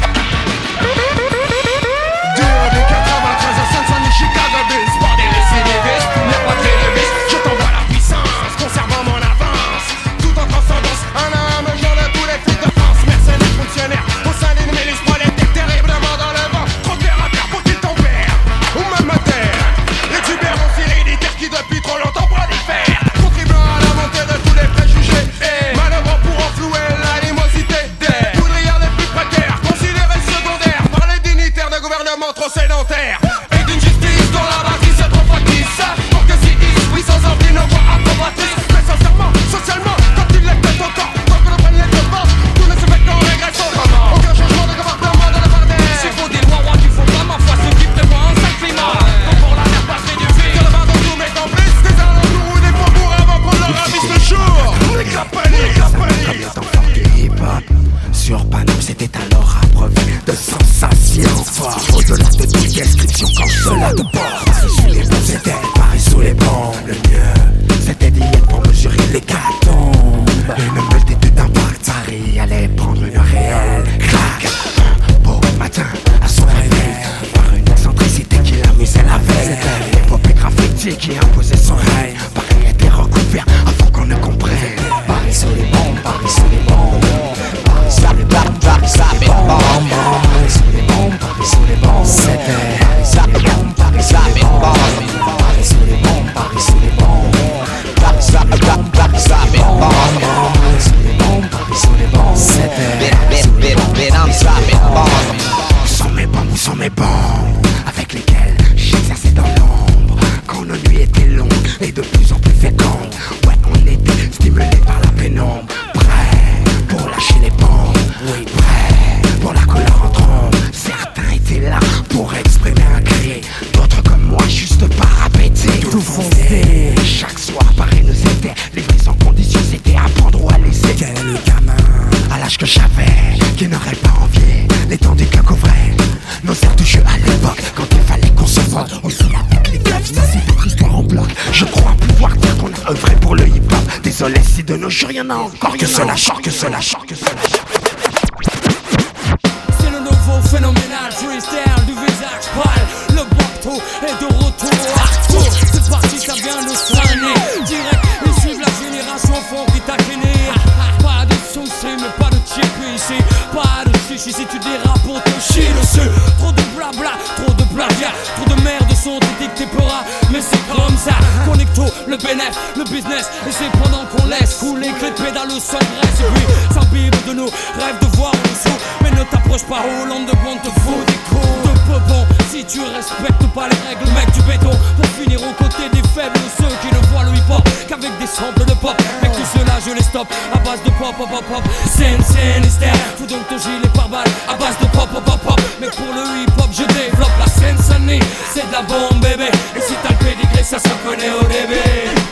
Des quatre-vingt-treize à Saint-Denis, Chicago Bulls. Pas des récidivistes, mais pas de télévistes. Je t'envoie la puissance, conservant mon avance. Tout en transcendance, un à un mesure de tous les flics de France. Mercenaires, fonctionnaires, au sein d'une milice prolétaire. Terriblement dans le vent, trop terre à terre pour qu'ils tempèrent. Ou même à terre. Les tubérants héréditaires qui depuis trop longtemps prolifèrent. Contribuant à la montée de tous les préjugés. Et manœuvrant pour enflouer l'animosité des poudrières les plus précaires. Considérés secondaires par les dignitaires de gouvernement trop sédentaires. Et d'une justice dont la matrice est trop factice. Pour que si ils oui sans envie nos voix approbatrices. Mais sincèrement, socialement, quand ils les pètent encore. Tant que l'on prenne les devants, tout ne se fait qu'en régresse autrement. Aucun changement de comportement de la part des. S'il faut des lois, roi, tu faut vraiment foi. Ce qui prévoit un sale climat. Donc pour la mère patrie du fils. Que le vent dans tous mes complices. Des alentours ou des faubourgs avant qu'on leur ravisse le jour. Les capellis, capellis. D'enfants du hip-hop sur Paname, c'était alors abreuvé de sensations fortes. Au-delà de toute description, quand cela de bord. Paris sous les bombes, c'était Paris sous les bombes. Le mieux, c'était d'y être pour mesurer l'hécatombe. Une multitude d'impacts, Paris allait prendre une réelle claque. Un beau matin, à son réveil, par une excentricité qui l'amusait la veille. C'était l'épopée graffiti qui imposait son règne. Paris était recouvert avant qu'on ne comprenne. Paris sous les bombes, Paris sous les bombes. Paris sous les bombes, Paris sous les bombes. Paris sous les bombes, Paris sous les bombes. C'était Paris sous les bombes, Paris sous les bombes. Paris sous les bombes, Paris sous les bombes. Paris sous les bombes, Paris sous les bombes. Paris sous les bombes, Paris sous les bombes. C'était Paris sous les bombes, Paris sous les bombes. Où sont mes bombes, où sont mes bombes, avec lesquelles j'exerçais dans l'ombre. Quand nos nuits étaient longues et de plus en plus fécondes. Ouais, on était stimulés par la pénombre. Prêts pour lâcher les bombes. Oui, prêts pour la couleur en trombe. Certains étaient là pour exprimer un cri. D'autres désolé si de nos jours y'en a encore que cela chante, que cela chante, que cela chante. C'est le nouveau phénoménal freestyle du visage pâle. Le bateau est de retour partout. C'est parti, ça vient de sonner. Direct, issu de la génération fond qui t'a kenné. Pas de soucis, mais pas de chip ici. Pas de chichi si tu dérapes pour te chier dessus. Trop de blabla, trop de plagiat. Trop de merde sont dictés peuras. Mais c'est comme ça. Connecto, le bénéf, le business. Et c'est pendant qu'on laisse couler que les pédales s'engraissent. Et puis s'imbibe de nous, rêve de voir en dessous. Mais ne t'approche pas, Hollande de Bond te fout des coups de peu bon. Si tu respectes pas les règles, mec du béton. Pour finir aux côtés des faibles, ceux qui ne voient le hip-hop qu'avec des samples de pop. Mec tout cela je les stoppe à base de pop pop pop pop. Scène, scène, hystère. Fous donc ton gilet par balle à base de pop pop pop pop. Mais pour le hip-hop je développe la scène sonnie. C'est de la bombe bébé. Et si t'as le pédigré ça se connaît au début.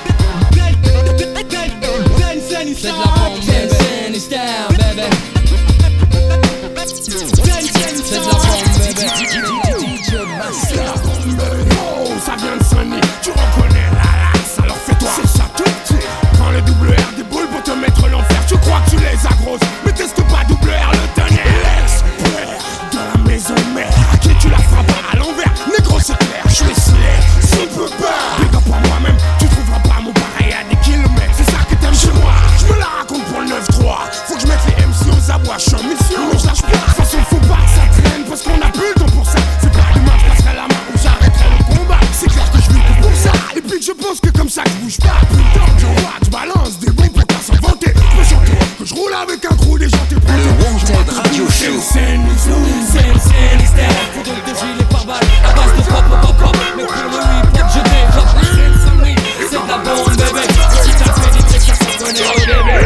C'est de la bombe bébé. Scène, hystère bébé. C'est de la bombe bébé. Oh, ça vient de sonner, tu reconnais la lasse, alors fais-toi. C'est ça tout petit. Quand le double R déboule pour te mettre l'enfer, tu crois que tu les as grosses, mais teste pas double R le tonnerre. L'expert de la maison mère, à qui tu la frappes à l'envers. Négro c'est clair, je suis slay, s'il peut pas. Big up à moi-même, tu trouveras pas mon pareil à des kilomètres. C'est ça que t'aimes chez moi, je me la raconte pour le neuf trois. Faut que je mette les M C aux abois, je suis en mission, mais je lâche pas. De toute façon faut pas que ça traîne, parce qu'on a plus le temps pour ça. C'est pas demain je passerai la main ou j'arrêterai le combat. C'est clair que je vis pour ça. Et puis que je pense que comme ça que je bouge pas. Putain que j'envoie, je balance des bons pour pas s'inventer. Je me chante que je roule avec un crew, des gens t'es prêts. Le Wanted Radio Show. Scène, scène, scène, hystère. Faut donc de gilet par balle à base de pop pop pop. Mais pour le hip-hop je développe la scène sonnerie. C'est de la bombe bébé. Si t'as fait des trucs ça se connaît au début.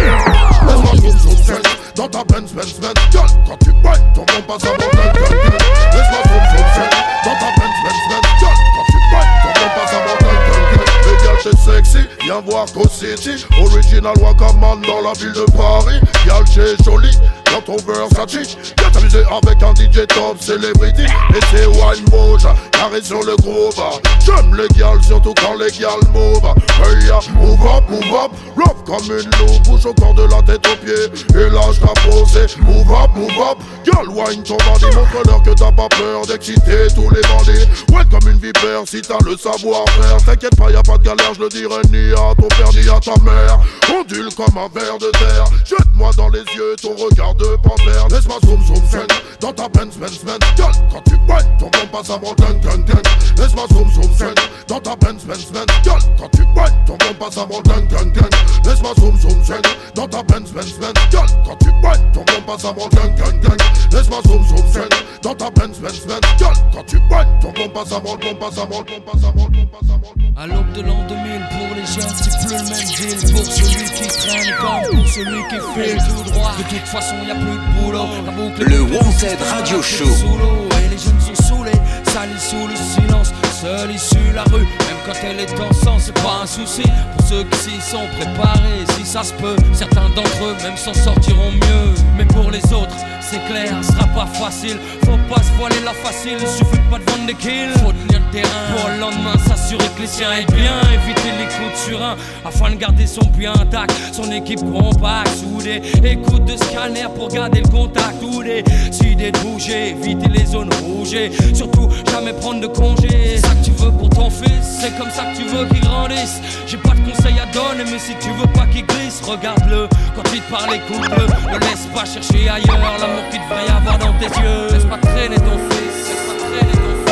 Dans ta Benz, Benz, Benz, gueule. Quand tu boites, ton bon passe avant le gueule. Laisse-moi zoom, zoom, zoom. Dans ta Benz, Benz, Benz, gueule. Quand tu boites, ton bon passe avant le gueule. Les gars, c'est sexy, viens voir Co City. Original Wakaman dans la ville de Paris. Y'a c'est joli, dans ton Versace. Viens t'amuser avec un D J top celebrity. Et c'est Wine Moja, carré sur le groove. J'aime les gals, surtout quand les gals move. Hey ya, move up, move up. Love comme une loupe, bouge au corps de la tête aux pieds. Et lâche ta posée, move up, move up. Girl, wine ton bandit, montre-leur que t'as pas peur d'exciter tous les bandits. Ouais, comme une vipère, si t'as le savoir-faire. T'inquiète pas, y'a pas de galère, je le dirai ni à ton père ni à ta mère. Ondule comme un ver de terre. Jette-moi dans les yeux ton regard de panthère. Laisse-moi zoom zoom zoom dans ta Benz Benz Benz. Girl, quand tu boites, ton bon passe avant gang gang gang. Laisse-moi zoom zoom zoom dans ta Benz Benz Benz. Girl, quand tu boites, ton bon passe avant gang gang gang. Laisse-moi zoom zoom zoom dans ta Benz Benz Benz. Girl, quand tu boites, ton bon passe avant gang gang gang. Laisse-moi zoom zoom zoom dans ta Benz Benz Benz. Girl, quand tu boites, ton bon passe avant, bon passe avant, bon passe avant, bon passe avant. À l'aube de l'an deux mille, pour les jeunes, c'est plus le même deal. Pour celui qui traîne comme pour celui qui file tout droit. De toute façon, y'a plus de boulot. La boucle le Wanted Radio Show. Sous l'eau et les jeunes sont saoulés, salis sous le silence. Seule issue la rue, même quand elle est en sang, c'est pas un souci. Pour ceux qui s'y sont préparés, si ça se peut, certains d'entre eux même s'en sortiront mieux. Mais pour les autres, c'est clair, ce sera pas facile. Faut pas se voiler la facile, il suffit pas de vendre des kills. Faut tenir le terrain pour le lendemain, s'assurer que les siens aillent bien. Éviter les coups de surin afin de garder son puits intact. Son équipe compacte, soudée. Écoute de scanner pour garder le contact. Ou décider de bouger, éviter les zones rouges. Surtout jamais prendre de congé. C'est ça que tu veux pour ton fils, c'est comme ça que tu veux qu'il grandisse. J'ai pas de conseils à donner, mais si tu veux pas qu'il glisse, regarde-le. Quand il te parle, écoute-le. Ne laisse pas chercher ailleurs l'amour qu'il devrait y avoir dans tes yeux. Laisse pas traîner ton fils, laisse pas traîner ton fils.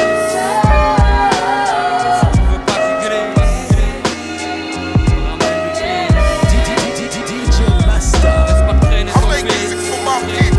Si tu veux pas qu'il glisse, ramène du fils. D J Master. Laisse pas traîner ton fils, traîner ton fils.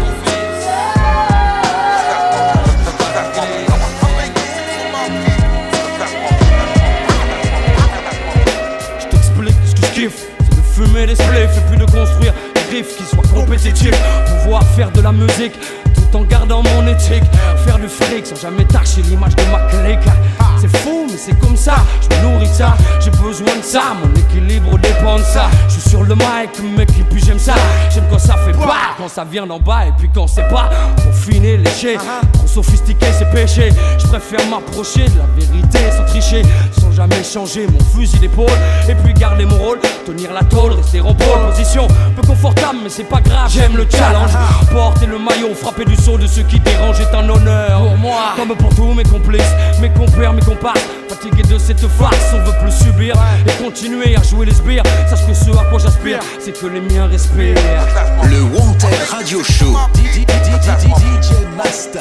C'est de fumer les spliffs et puis de construire des riffs qui soient compétitifs. Pouvoir faire de la musique tout en gardant mon éthique. Faire du fric sans jamais tâcher l'image de ma clique. C'est fou mais c'est comme ça, je me nourris de ça. J'ai besoin de ça, mon équilibre dépend de ça. Je suis sur le mic mec et puis j'aime ça. J'aime quand ça fait pas, quand ça vient d'en bas et puis quand c'est pas. Pour finir lécher, trop sophistiqué c'est péché. Je préfère m'approcher de la vérité sans tricher. Sans jamais jamais changer mon fusil d'épaule. Et puis garder mon rôle, tenir la tôle, rester en pôle. Position peu confortable mais c'est pas grave, j'aime le challenge. Porter le maillot, frapper du saut de ceux qui dérangent est un honneur pour moi. Comme pour tous mes complices, mes compères, mes comparses. Fatigué de cette farce, on veut plus subir et continuer à jouer les sbires. Sache que ce à quoi j'aspire, c'est que les miens respirent. Le Wanted Radio Show. D J Masta.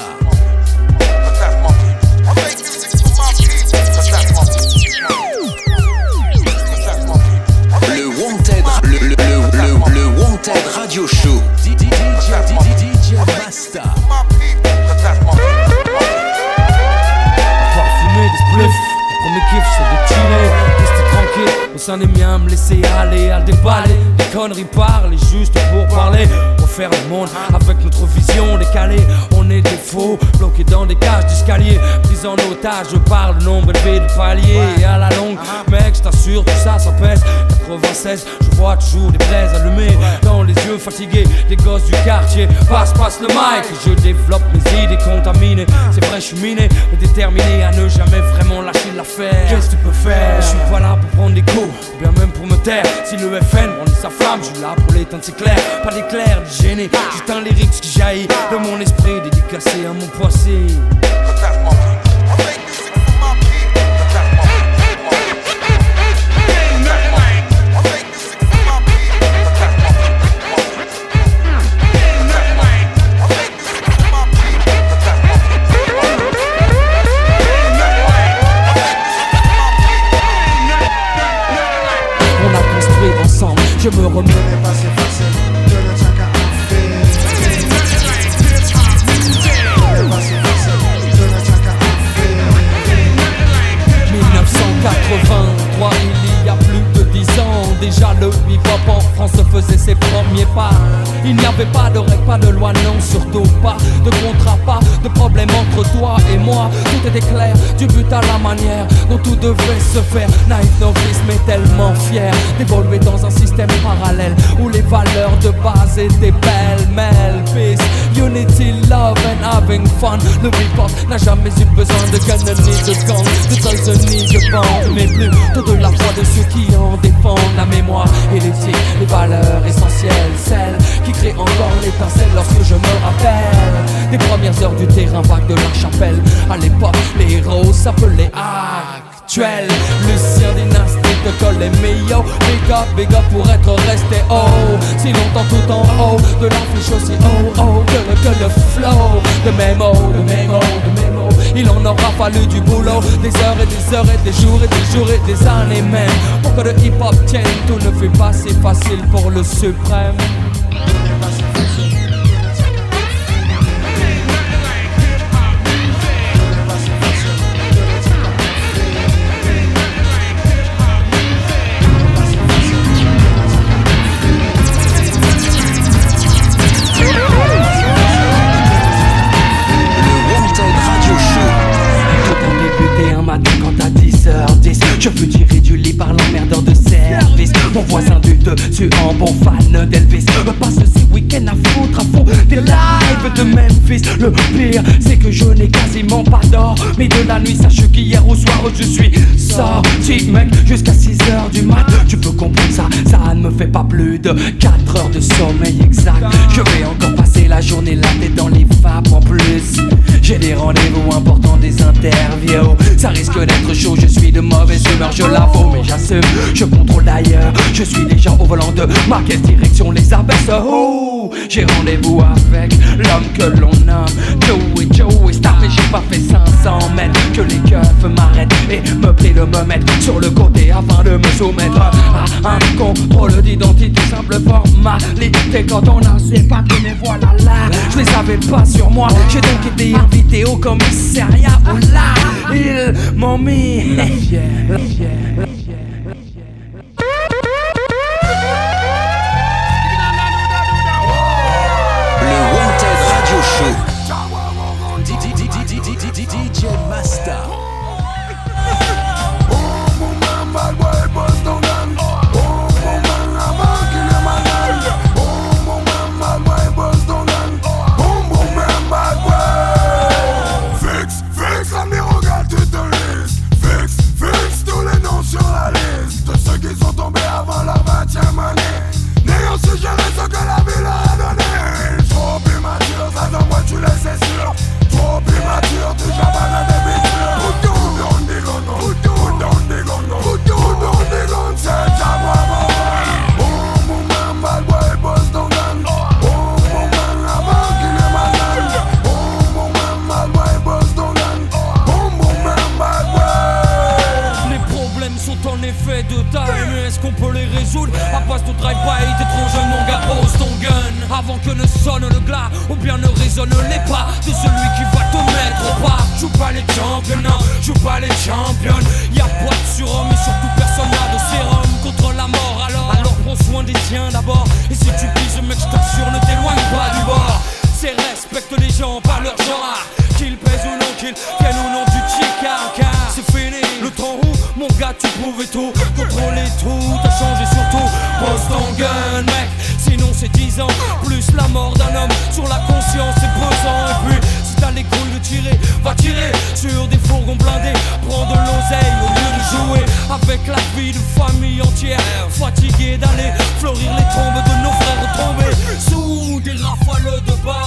Le Wanted, le, le, le, le, le Wanted Radio Show. D J Masta. Parfumé des spliffs, le premier kiff c'est de chiller, rester tranquille au sein des miens, me laisser aller à déballer. Des conneries parlent juste pour parler. Refaire le monde avec notre vision décalée. On est des faux, bloqués dans des cages d'escalier, pris en otage par le nombre élevé de paliers. Et à la longue, mec, je t'assure, tout ça, ça pèse. quatre-vingt-seize, je vois toujours des braises allumées dans les yeux fatigués des gosses du quartier. Passe, passe le mic, je développe mes idées contaminées. C'est vrai, je suis miné, mais déterminé à ne jamais vraiment lâcher l'affaire. Qu'est-ce que tu peux faire? Je suis pas là pour prendre des coups, ou bien même pour me taire. Si le F N brandit sa flamme, je suis là pour l'éteindre, c'est clair. Pas d'éclair, de gêner, juste un lyrics qui jaillit de mon esprit, dédicacé à mon passé. Je me remets pas c'est facile de ne tient qu'à en faire. Pas c'est facile de ne tient qu'à en faire. dix-neuf cent quatre-vingt-trois, il y a plus de dix ans, déjà le hip-hop en France faisait ses premiers pas. Il n'y avait pas de règles, pas de loi, non, surtout pas de contrat, pas de problème entre toi et moi. Tout était clair, du but à la manière dont tout devait se faire. Naïf novice, mais tellement fier d'évoluer dans un système parallèle où les valeurs de base étaient pêle-mêle. Peace, unity, love and having fun. Le hip-hop n'a jamais eu besoin de gun ni de gang, de guns ni de bande, mais plus de la foi de ceux qui en défendent la mémoire et l'éthique, les valeurs essentielles, celles qui créent encore l'étincelle lorsque je me rappelle des premières heures du terrain vague de la chapelle. À l'époque, les héros s'appelaient actuels. Lucien Dynastie de Col et Mio, big up, big up pour être resté haut si longtemps tout en haut de l'affiche aussi oh oh que le, que le flow de mémo, de mémo, de mémo. Il en aura fallu du boulot, des heures et des heures et des jours et des jours et des années même pour que le hip-hop tienne. Tout ne fait pas si facile pour le suprême. Je fus tiré du lit par l'emmerdeur de service. Mon voisin du dessus en bon fan d'Elvis me passe ces week-ends à foutre à fond des lives de Memphis. Le pire c'est que je n'ai quasiment pas d'or, mais de la nuit sache qu'hier au soir je suis sorti mec jusqu'à six heures du mat. Tu peux comprendre ça, ça ne me fait pas plus de quatre heures de sommeil exact. Je vais encore passer la journée là tête dans les vapes en plus. J'ai des rendez-vous importants, des interviews. Ça risque d'être chaud, je suis de mauvaise humeur, je l'avoue, mais j'assume. Je contrôle d'ailleurs, je suis déjà au volant de ma caisse, direction les abaisse. Oh, j'ai rendez-vous avec l'homme que l'on nomme Joey, Joey Star, mais j'ai pas fait cinq cents mètres que les keufs m'arrêtent et me prient de me mettre sur le côté afin de me soumettre à un contrôle d'identité. Simple formalité quand on a ses papiers, mais voilà là, je les avais pas sur moi. J'ai donc été invité au commissariat où là, ils m'ont mis la fière, la fière, la fière. D J Masta. Fix, fix, la me regarde, tu te laisses. Fix, fix, faits de taille, mais est-ce qu'on peut les résoudre à base de drive-by? T'es trop jeune mon gars, pose ton gun avant que ne sonne le glas, ou bien ne résonne les pas de celui qui va te mettre au pas. Joue pas les champions, non, joue pas les champions. Y'a pas de surhomme et surtout personne n'a de sérum contre la mort. Alors, alors prends soin des tiens d'abord. Et si tu pises mec, je t'assure, ne t'éloigne pas du bord. C'est respecte les gens par leur genre, qu'ils pèsent ou non, qu'ils viennent ou non du ticard. Car c'est fini, le temps où mon gars tu pouvais tout contrôler, tout t'as changé surtout. Pose ton gun mec, sinon c'est dix ans plus la mort d'un homme sur la conscience, c'est pesant. Et puis si t'as les couilles de tirer, va tirer sur des fourgons blindés. Prends de l'oseille au lieu de jouer avec la vie de famille entière, fatigué d'aller fleurir les tombes de nos frères tombés sous des rafales de balles.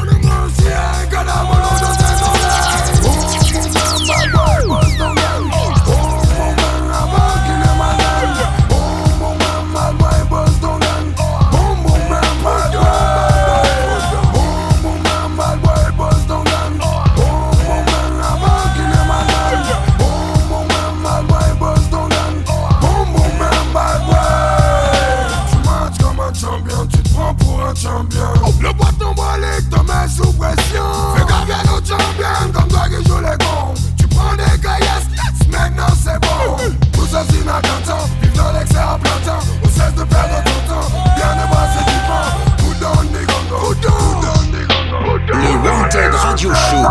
Le bâton brolique te met sous pression. Fais gaffe à nos champions comme toi qui joue les cons. Tu prends des caillasses, maintenant c'est bon. Tout ça c'est inattentant, vive dans l'excès à plein temps. On cesse de perdre ton temps, bien de brasser du vent. Who down the gun, who down the gun. Le Wanted Radio Show.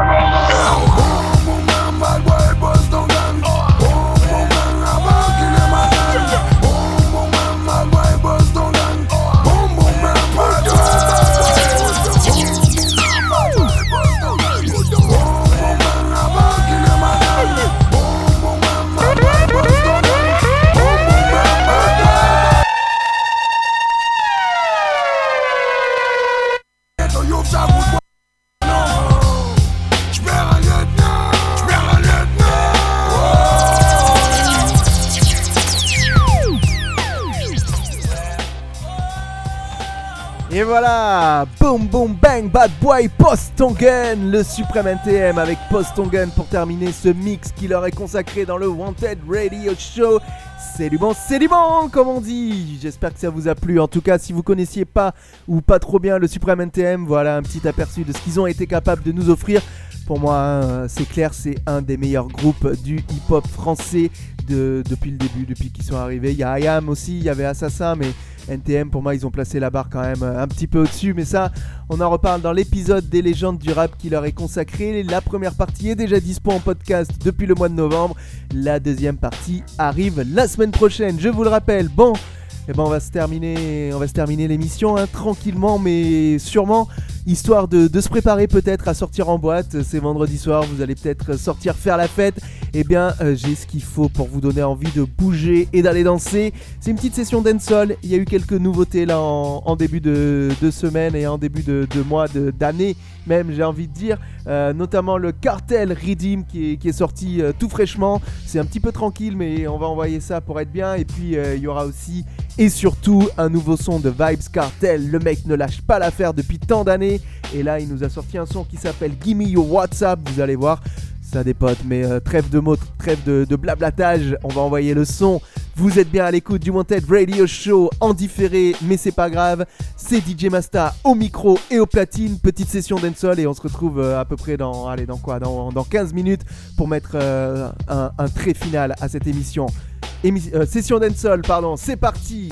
Et voilà, boom boom bang, bad boy, Pose ton gun, le suprême N T M avec Pose ton gun pour terminer ce mix qui leur est consacré dans le Wanted Radio Show. C'est du bon, c'est du bon comme on dit. J'espère que ça vous a plu. En tout cas, si vous connaissiez pas ou pas trop bien le suprême N T M, voilà un petit aperçu de ce qu'ils ont été capables de nous offrir. Pour moi, hein, c'est clair, c'est un des meilleurs groupes du hip-hop français de, depuis le début, depuis qu'ils sont arrivés. Il y a I A M aussi, il y avait Assassin, mais N T M, pour moi, ils ont placé la barre quand même un petit peu au-dessus. Mais ça, on en reparle dans l'épisode des légendes du rap qui leur est consacré. La première partie est déjà dispo en podcast depuis le mois de novembre. La deuxième partie arrive la semaine prochaine, je vous le rappelle. Bon, eh ben on va se terminer, on va se terminer l'émission hein, tranquillement, mais sûrement, histoire de, de se préparer peut-être à sortir en boîte. C'est vendredi soir, vous allez peut-être sortir faire la fête. Eh bien, euh, j'ai ce qu'il faut pour vous donner envie de bouger et d'aller danser. C'est une petite session dancehall. Il y a eu quelques nouveautés là en, en début de, de semaine et en début de, de mois, de, d'année même, j'ai envie de dire. Euh, notamment le Cartel Redeem qui est, qui est sorti euh, tout fraîchement. C'est un petit peu tranquille, mais on va envoyer ça pour être bien. Et puis, euh, il y aura aussi et surtout un nouveau son de Vybz Kartel. Le mec ne lâche pas l'affaire depuis tant d'années. Et là, il nous a sorti un son qui s'appelle Gimme Your WhatsApp. Vous allez voir, ça dépote, mais euh, trêve de mots, trêve de, de blablatage. On va envoyer le son. Vous êtes bien à l'écoute du Wanted Radio Show en différé, mais c'est pas grave. C'est D J Masta au micro et au platine. Petite session dancehall et on se retrouve euh, à peu près dans, allez, dans quoi, dans, dans quinze minutes pour mettre euh, un, un trait final à cette émission. Émi- euh, session dancehall, pardon. C'est parti.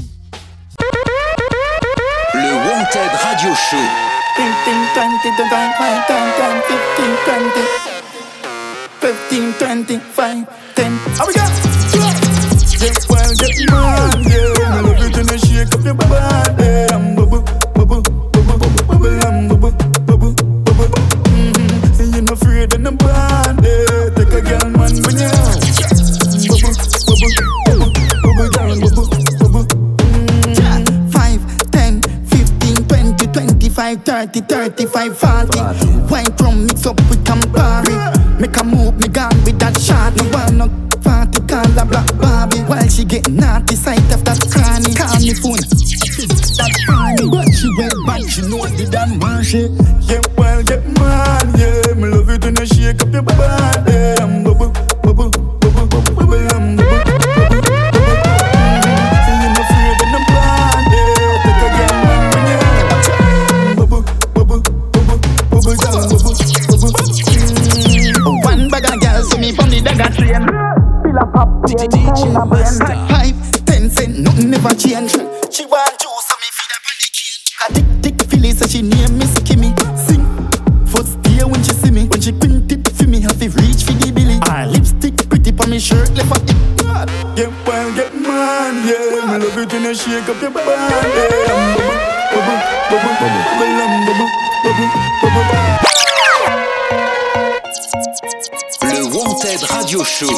Le Wanted Radio Show. fifteen, twenty, five, ten. How we go? Get wild, get mad, yeah. I love you to shake up your body. I'm bubble, bubble, bubble, bubble, bubble, I'm bubble, bubble, bubble. Mm-hmm. And you're not afraid of nobody. Take a girl, man, when you bubble, bubble, bubble, bubble, down, bubble, bubble. Mm-hmm. Five, ten, fifteen, twenty, twenty-five, thirty, thirty-five, forty. White rum mix up with Campari. Make a move, me gone with that shot. No one no party, call a black Barbie. While she get naughty, sight of that cranny. Call me phone, that funny. But she went back, she know the damn man she. Yeah, well, get mad, yeah. Me love you to no shake up your body. I'm bubble, bubble, bubble, bubble, bubble, I'm bubble, bubble. time I burn. Five, ten cent, nothing never change. She want juice, so me feed up on the cane. I tick tick Philly, so she name Miss Kimmy. Sing, first day when she see me, when she print it for me, have to reach for the billy. Her lipstick pretty on me shirt, left for it. Get wild, get mad, yeah. Me love it when you shake up your body, yeah. Bubble, bubble, bubble, bubble, bubble, bubble, bubble. Le Wanted Radio Show.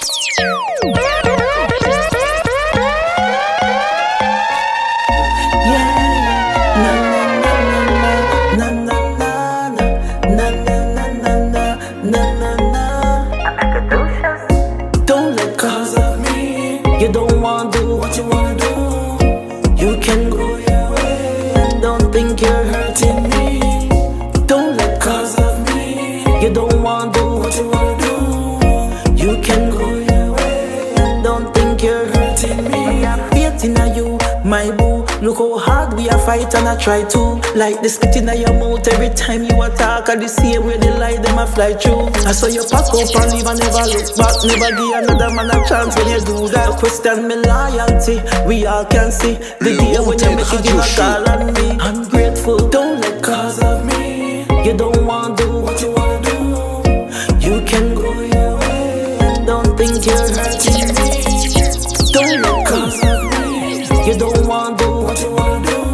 My boo, look how hard we a fight and I try to. Like the spit in your mouth every time you attack. I the same way they lie, them a fly through. I saw you pack up and leave and never look back. Never give another man a chance when you do that. Question me loyalty, we all can see. The day when you make it give a call on me. I'm grateful, don't let cause of me. You don't want to do what you want to do. You can go your way and don't think you're hurting me. Don't let cause of me. You don't want to do what you want to do.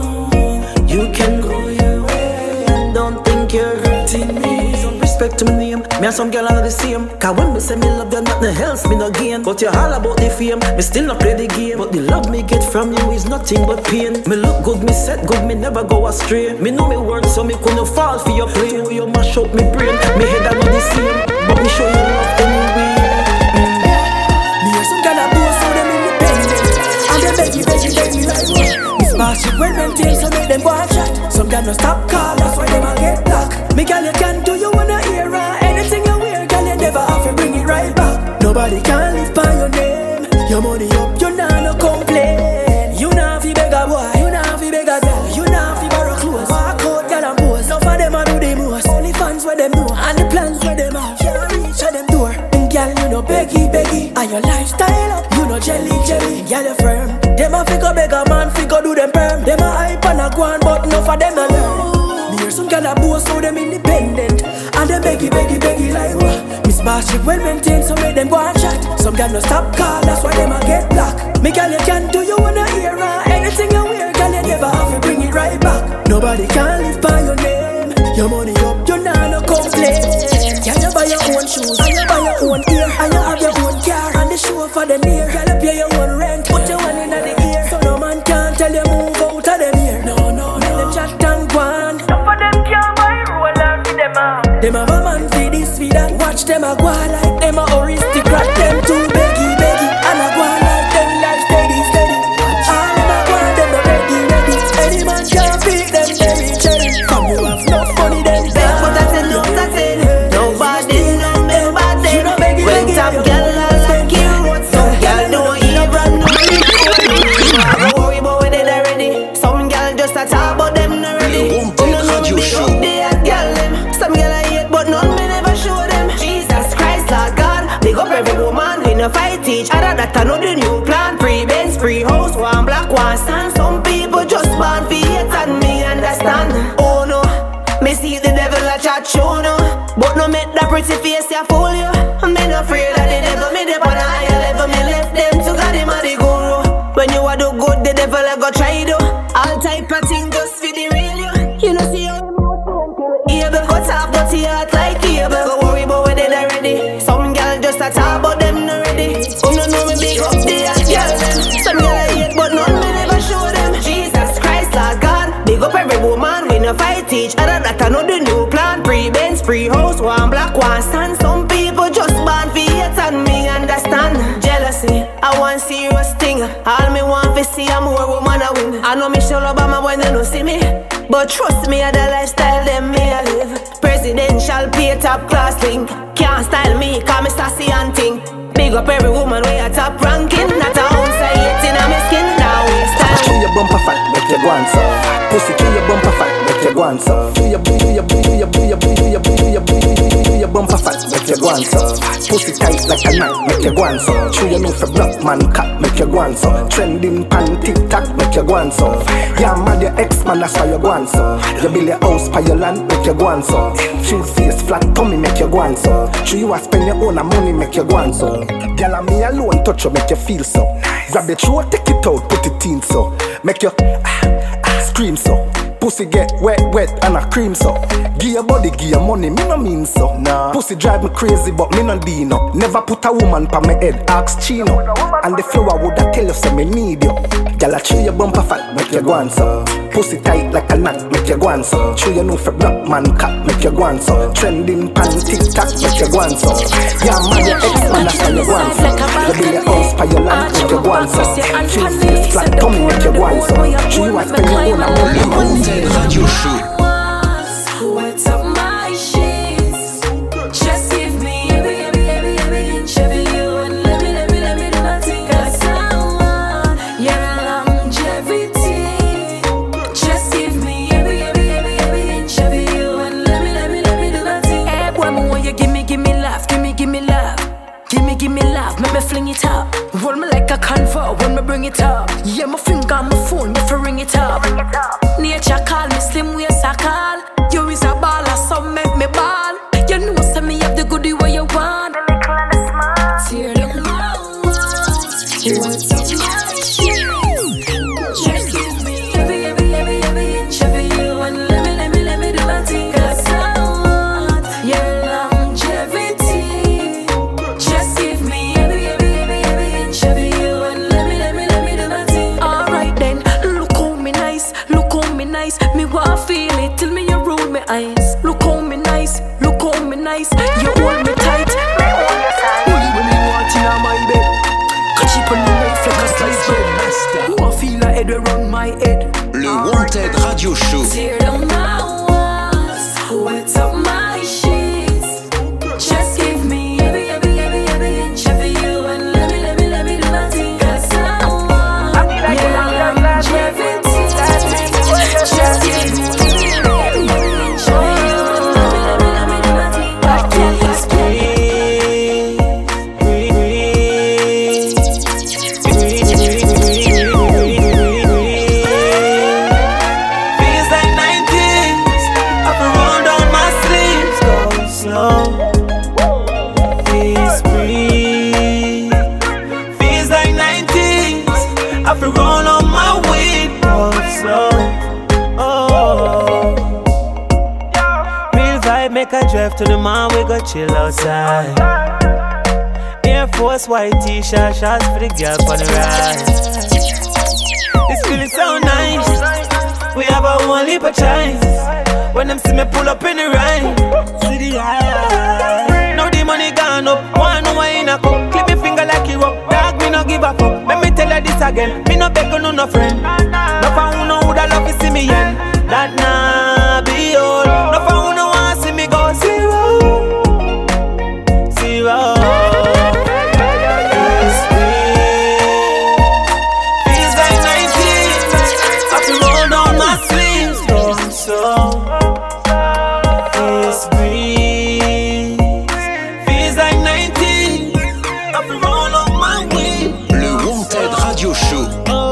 You can go your way and don't think you're hurting me. Some respect to my name, me and some girl are the same. Cause when me say me love you, nothing else me no gain. But you're all about the fame, me still not play the game. But the love me get from you is nothing but pain. Me look good, me set good, me never go astray. Me know me worth so me couldn't fall for your play. You mash up me brain, me head I know the same. But me show you love anyway. Mm. Me hear some girl a boast so them independent. And they beg you, beg you, beg you like what? Miss Marshall when them things so make them go and chat. Some girl no stop call, that's why them a get black. Me girl you can do you wanna hear her. Anything you wear, girl you never have to bring it right back. Nobody can live by your name. Your money up, you nah no complain. You nah fi beg a boy, you nah fi beg a girl, you nah fi borrow clothes. Walk out, girl and pose. Some of them a do the most. Only fans where them know and the plans where them have. Can't reach at them door. And girl you know beggy beggy, and your lifestyle up. You know jelly jelly, girl you firm. Them a figure beg a man, figure do them perm. Them a hype and a go on, but enough of them a learn. Me hear some girl a boast so them independent. And them beggy, beggy, beggy like what? Miss Barship well maintained, so make them go and chat. Some girl no stop call, that's why them a get black. Me girl you can do you wanna hear her. Anything you wear, girl you never have to bring it right back. Nobody can live by your name. Your money up, you nah no complain. Girl you buy your own shoes, and you buy your own ear, and you have your own car, and the show for the near. Girl you pay your own rent, put your one in the ear. So no man can tell you move out of them here. No, no, no. Let them chat and go on. Some of them can't buy roller for them out. Them have a man for this, for that. Watch them a go on like them a aristocrat. Them too beggy, beggy, and a go on like them life steady, steady. All them a go on, them no ready, ready. Any man can't beat them, cherry, cherry. Come you have no funny, them beg, but I tell you, I tell you. Nobody, no nobody. You know beggy, beggy. When top girl like you, some girl don't even know. Don't worry about what they already. Some girl just a talk about them already. You know me big up the hot girl them. Some girl I hate, but none me never show them. Jesus Christ, Lord God, big up every woman. We no fight each other, that I know the new plan. Free Benz, free house, one black, one stand. Some people just born for hate and me understand. Oh no, me see the devil a chat show no. But no make that pretty face ya fool you. I'm not afraid of the devil, me dip on a higher level. Me left them to God, him a the guru. When you a do good, the devil a go try do. All type of thing just for the real you. You know see how him able cut off dirty heart like cable. Don't worry about what they already. Some girl just a talk about them already. Oh no no me big up the hot girl them. Some girl I hate but none me never show them. Jesus Christ Lord God, big up every woman. We no fight each other, that I know the new plan. Free Benz, free house, one black, one stand. Some people just born for hate and me understand. Jealousy, I want serious thing. All me want to see a more woman a win. I know Michelle Obama when they don't see me, but trust me, I the lifestyle them me a live. Presidential pay top class thing. Can't style me, call me sassy and ting. Big up every woman way a top ranking. Not a ounce I hate in a me skin. Now we style. Chew your bumper fat, make your go on so. Pussy chew your bumper fat, make your go on so. Chew your chew your chew your chew your chew your chew your chew your chew your bumper fat, make you go on so. Pussy tight like a knife, make you go on so. True you know for black man cat, make you go on so. Trending pan TikTok, make you go on so. Yeah, mad your ex man, that's why you go on so. You build your house by your land, make you go on so. True face flat tummy, make you go on so. True you a spend your own money, make you go on so. Girl and me alone touch you, make you feel so. Grab the throat, take it out, put it in so. Make you ah, ah, scream so. Pussy get wet, wet and a cream so. Give your body, give your money, me no mean so. Nah. Pussy drive me crazy, but me no dino. Never put a woman pa my head, ask Chino. And the flower woulda tell you say me need you. Gyal a chew your bumper fat, make you go on so. Pussy tight like a knot, make you go on so. Chew you know for black man cat, make you go on so. Trending pan TikTok, make you go on so. Yeah man, your ex man that's why you go on so. You build your house pa your land, make you go on so. Chew face flat tummy, make you go on so. Chew you a spend your own money. Radio Show. What's up my sheets? Just give me every, every, every, every inch of you and let me, let me, let me do my thing. Cause I want your longevity. Just give me every, every, every, every inch of you and let me, let me, let me do my thing. Hey, boy, me want you give me, give me love, give me, give me love. Give me, give me love, make me fling it up. Roll me like a convo when me bring it up. Yeah, my finger on my phone, me for ring it up. Nature call me slim waist I call. You is a baller, so make me ball. You know say me have the goodie where you want. The little and the small. Tear them out. What's up my sheets? Just give me every, every, every, every inch of you and let me, let me, let me do my thing. Cause I want your longevity. Just give me every, every, every, every inch of you and let me, let me, let me do my thing. Alright then, look how me nice, look how me nice. Me want feel it till me you roll me eyes. Look how me nice, look how me nice. You hold me tight, me hold you tight. Only when me want in my bed. Catch it on the knife like a slice bread. Who I feel like head around my head. Le Wanted Radio Show. Tear down my walls, wet up my sheets. Just give me every, every, every, every inch of you and let me, let me, let me do my thing. Cause I want your longevity. Just give me every, every inch of you and let me, let me, let me do my thing. Please breathe, breathe, breathe, breathe, breathe, breathe, breathe. Feels like nineties, up and roll down my sleeves, go slow. Please breathe. Feels like nineties, up and roll on my weed, go slow. Oh, real vibe, make a drive to the mall, we go chill outside. Air Force white t-shirt, shots for the girl on the ride. It's feeling so nice. We have a one leap of chance. When them see me pull up in the ride, see the eye. Now the money gone up, one no in a cup. Clip your finger like you up, dog me no give a fuck. Let me tell you this again, me no beg no no friend. No for who know who that love you see me in. That nah be all. No for who no want see me go zero, zero. Feels like nineteen, I feel roll down my sleeves, go so. Please breathe. Feels like nineteen, I feel roll on my way. Le Wanted Radio Show.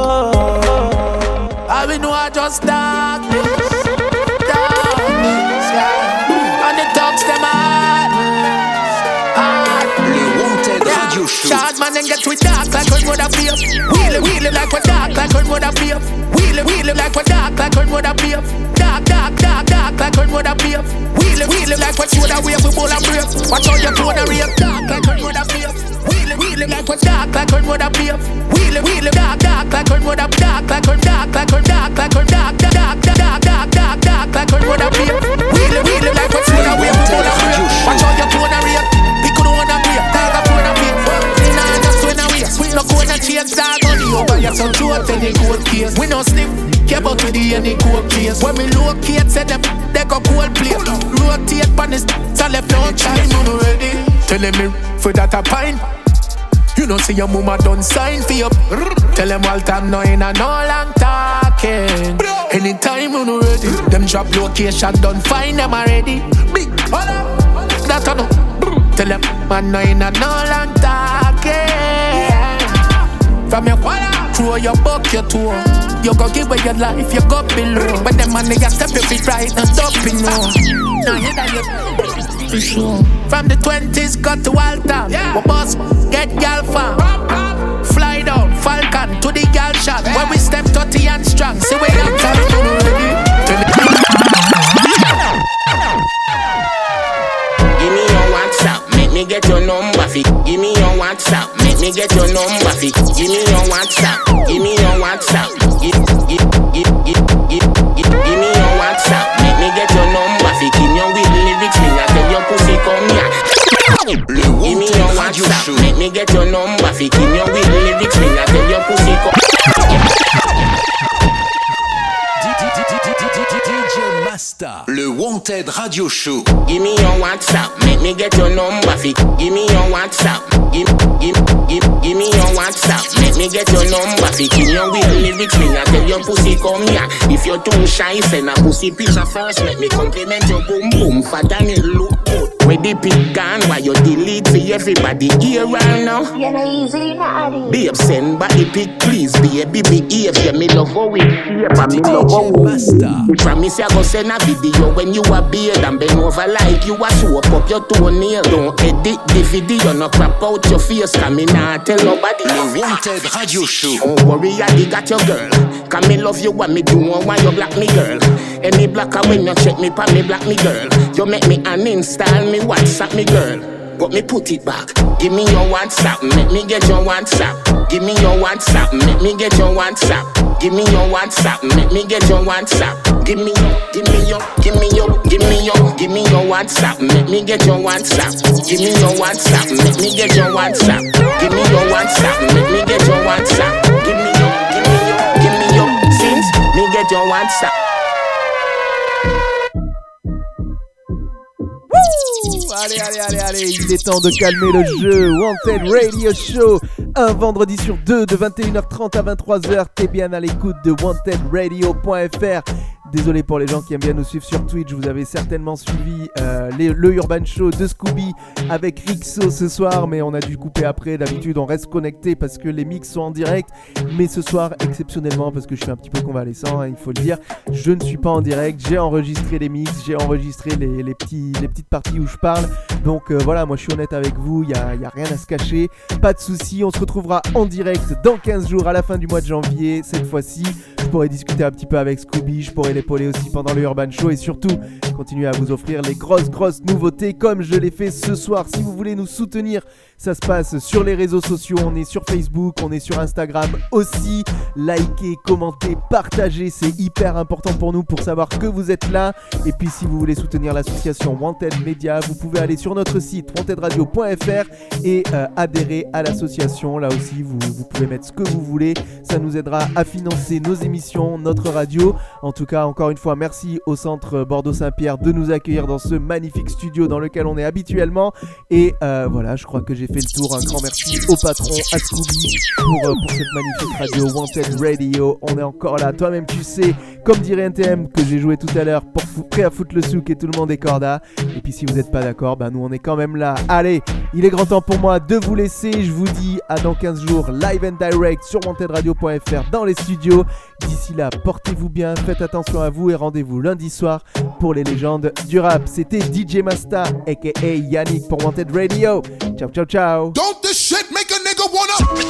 I will know I just darkness, darkness, yeah. And the dogs them hard, hard. Le Wanted Radio Show. Short man and get with dark like when would I be up. Wheelie wheelie like we dark like when would I be up. Wheelie wheelie like we dark like when would I be up. Dark dark dark dark like when would I be up. Wheelie wheelie like what should I wear we bowl and break. Watch how you clone a rape. Dark like when would I be up. Wheelie wheelie like we dark like when would I be up. Wheelie wheelie dark dark like when would I dark like when dark like when dark like when dark dark dark dark dark dark like when would I be up. Wheelie wheelie like what should I wear we bowl and break. Watch how you clone a rape. We could wanna be up. Dog a phone a beat. Nah just when I wear. We no gonna change dog on the over here. So throat any cold case. We no sniff. Care about with the any cold case. When we locate, say them they go cold plate. Rotate pan this, so left no time. You no ready? Telling me for that a pine. You know see your mama done sign for you. Tell them all time no in a no long talking. Anytime you no ready, them drop location done fine them already. Big, that I know. Tell them, man, no in a no long talking. From your water, throw your buck, your tour. You go give away your life, you go below. But them money, you step your feet right and up, you know. Now you got your for sure. From the twenties, got to Walter. Yeah. We boss, get gal fam. Fly down, Falcon, to the gal shop. Yeah. When we step thirty and strong, see we got time ready. Give me your WhatsApp, make me get your number fi. Give me your WhatsApp, make me get your number fi. Give me your WhatsApp, give me your WhatsApp. Give, give, give, give, give, give, give me your WhatsApp, make me get your number fi. Give me your with lyrics, me I tell your pussy come here. Give me your WhatsApp, make me get your number fi. Give me your with lyrics, me I tell your pussy come. Le Wanted Radio Show. Give me your WhatsApp, make me get your number fi. Give me your WhatsApp, give, give, give, give me your WhatsApp, make me get your number fi. Give your with lyrics, me I tell your pussy come here. If you're too shy, send a pussy picture first. Make me compliment your boom boom, fat and it look good. Where the pic gone, why you delete for everybody here right now? You know easy, not addy. Babe, send body pic, please, baby, behave. Yeah, me love how we here, but me love how we. Promise I go send a video when you a beard and bend over like you a soap up your toenail. Don't edit the video, no crap out your face. Come in and tell nobody. Le Wanted Radio Show. Don't worry, I got your girl. Come me love you, what me do, why you block me, girl. Any blocker when you check me, pa me block me, girl. You make me uninstall me, WhatsApp me, girl. But me put it back. Give me your WhatsApp, make me get your WhatsApp. Give me your WhatsApp, make me get your WhatsApp. Give me your WhatsApp, make me get your WhatsApp. Give me your, give me your, give me your, give me your, give me your WhatsApp, make me get your WhatsApp. Give me your WhatsApp, make me get your WhatsApp. Give me your WhatsApp, make me get your WhatsApp. Give me your, give me your, give me your, since me get your WhatsApp. Allez, allez, allez, allez, il est temps de calmer le jeu. Wanted Radio Show, un vendredi sur deux de vingt et une heures trente à vingt-trois heures. T'es bien à l'écoute de wanted radio point f r. Désolé pour les gens qui aiment bien nous suivre sur Twitch, vous avez certainement suivi euh, les, le Urban Show de Scooby avec Rixo ce soir, mais on a dû couper après. D'habitude on reste connecté parce que les mix sont en direct, mais ce soir exceptionnellement, parce que je suis un petit peu convalescent, hein, il faut le dire, je ne suis pas en direct. J'ai enregistré les mix, j'ai enregistré les, les, petits, les petites parties où je parle, donc euh, voilà, moi je suis honnête avec vous, il n'y a, y a rien à se cacher, pas de soucis. On se retrouvera en direct dans quinze jours à la fin du mois de janvier. Cette fois-ci je pourrai discuter un petit peu avec Scooby, je pourrai l'épauler aussi pendant le Urban Show et surtout continuer à vous offrir les grosses grosses nouveautés comme je l'ai fait ce soir. Si vous voulez nous soutenir, ça se passe sur les réseaux sociaux, on est sur Facebook, on est sur Instagram aussi. Likez, commentez, partagez, c'est hyper important pour nous pour savoir que vous êtes là. Et puis si vous voulez soutenir l'association Wanted Media, vous pouvez aller sur notre site wanted radio point f r et euh, adhérer à l'association. Là aussi vous, vous pouvez mettre ce que vous voulez, ça nous aidera à financer nos émissions, notre radio. En tout cas, encore une fois, merci au centre Bordeaux-Saint-Pierre de nous accueillir dans ce magnifique studio dans lequel on est habituellement. Et euh, voilà, je crois que j'ai fait le tour. Un grand merci au patron, à Scooby, pour, euh, pour cette magnifique radio Wanted Radio. On est encore là, toi-même tu sais, comme dirait N T M que j'ai joué tout à l'heure, pour fou- prêt à foutre le souk et tout le monde est corda. Et puis si vous n'êtes pas d'accord, bah nous on est quand même là. Allez, il est grand temps pour moi de vous laisser. Je vous dis à dans quinze jours, live and direct sur wanted radio point f r dans les studios. D'ici là, portez-vous bien, faites attention à vous et rendez-vous lundi soir pour les légendes du rap. C'était D J Masta, aka Yannick pour Wanted Radio. Ciao, ciao, ciao. Don't this shit make a nigga wanna...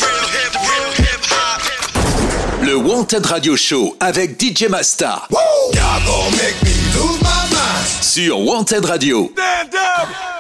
Le Wanted Radio Show avec D J Masta. Y'all gon' make me lose my mind. Sur Wanted Radio. Stand up.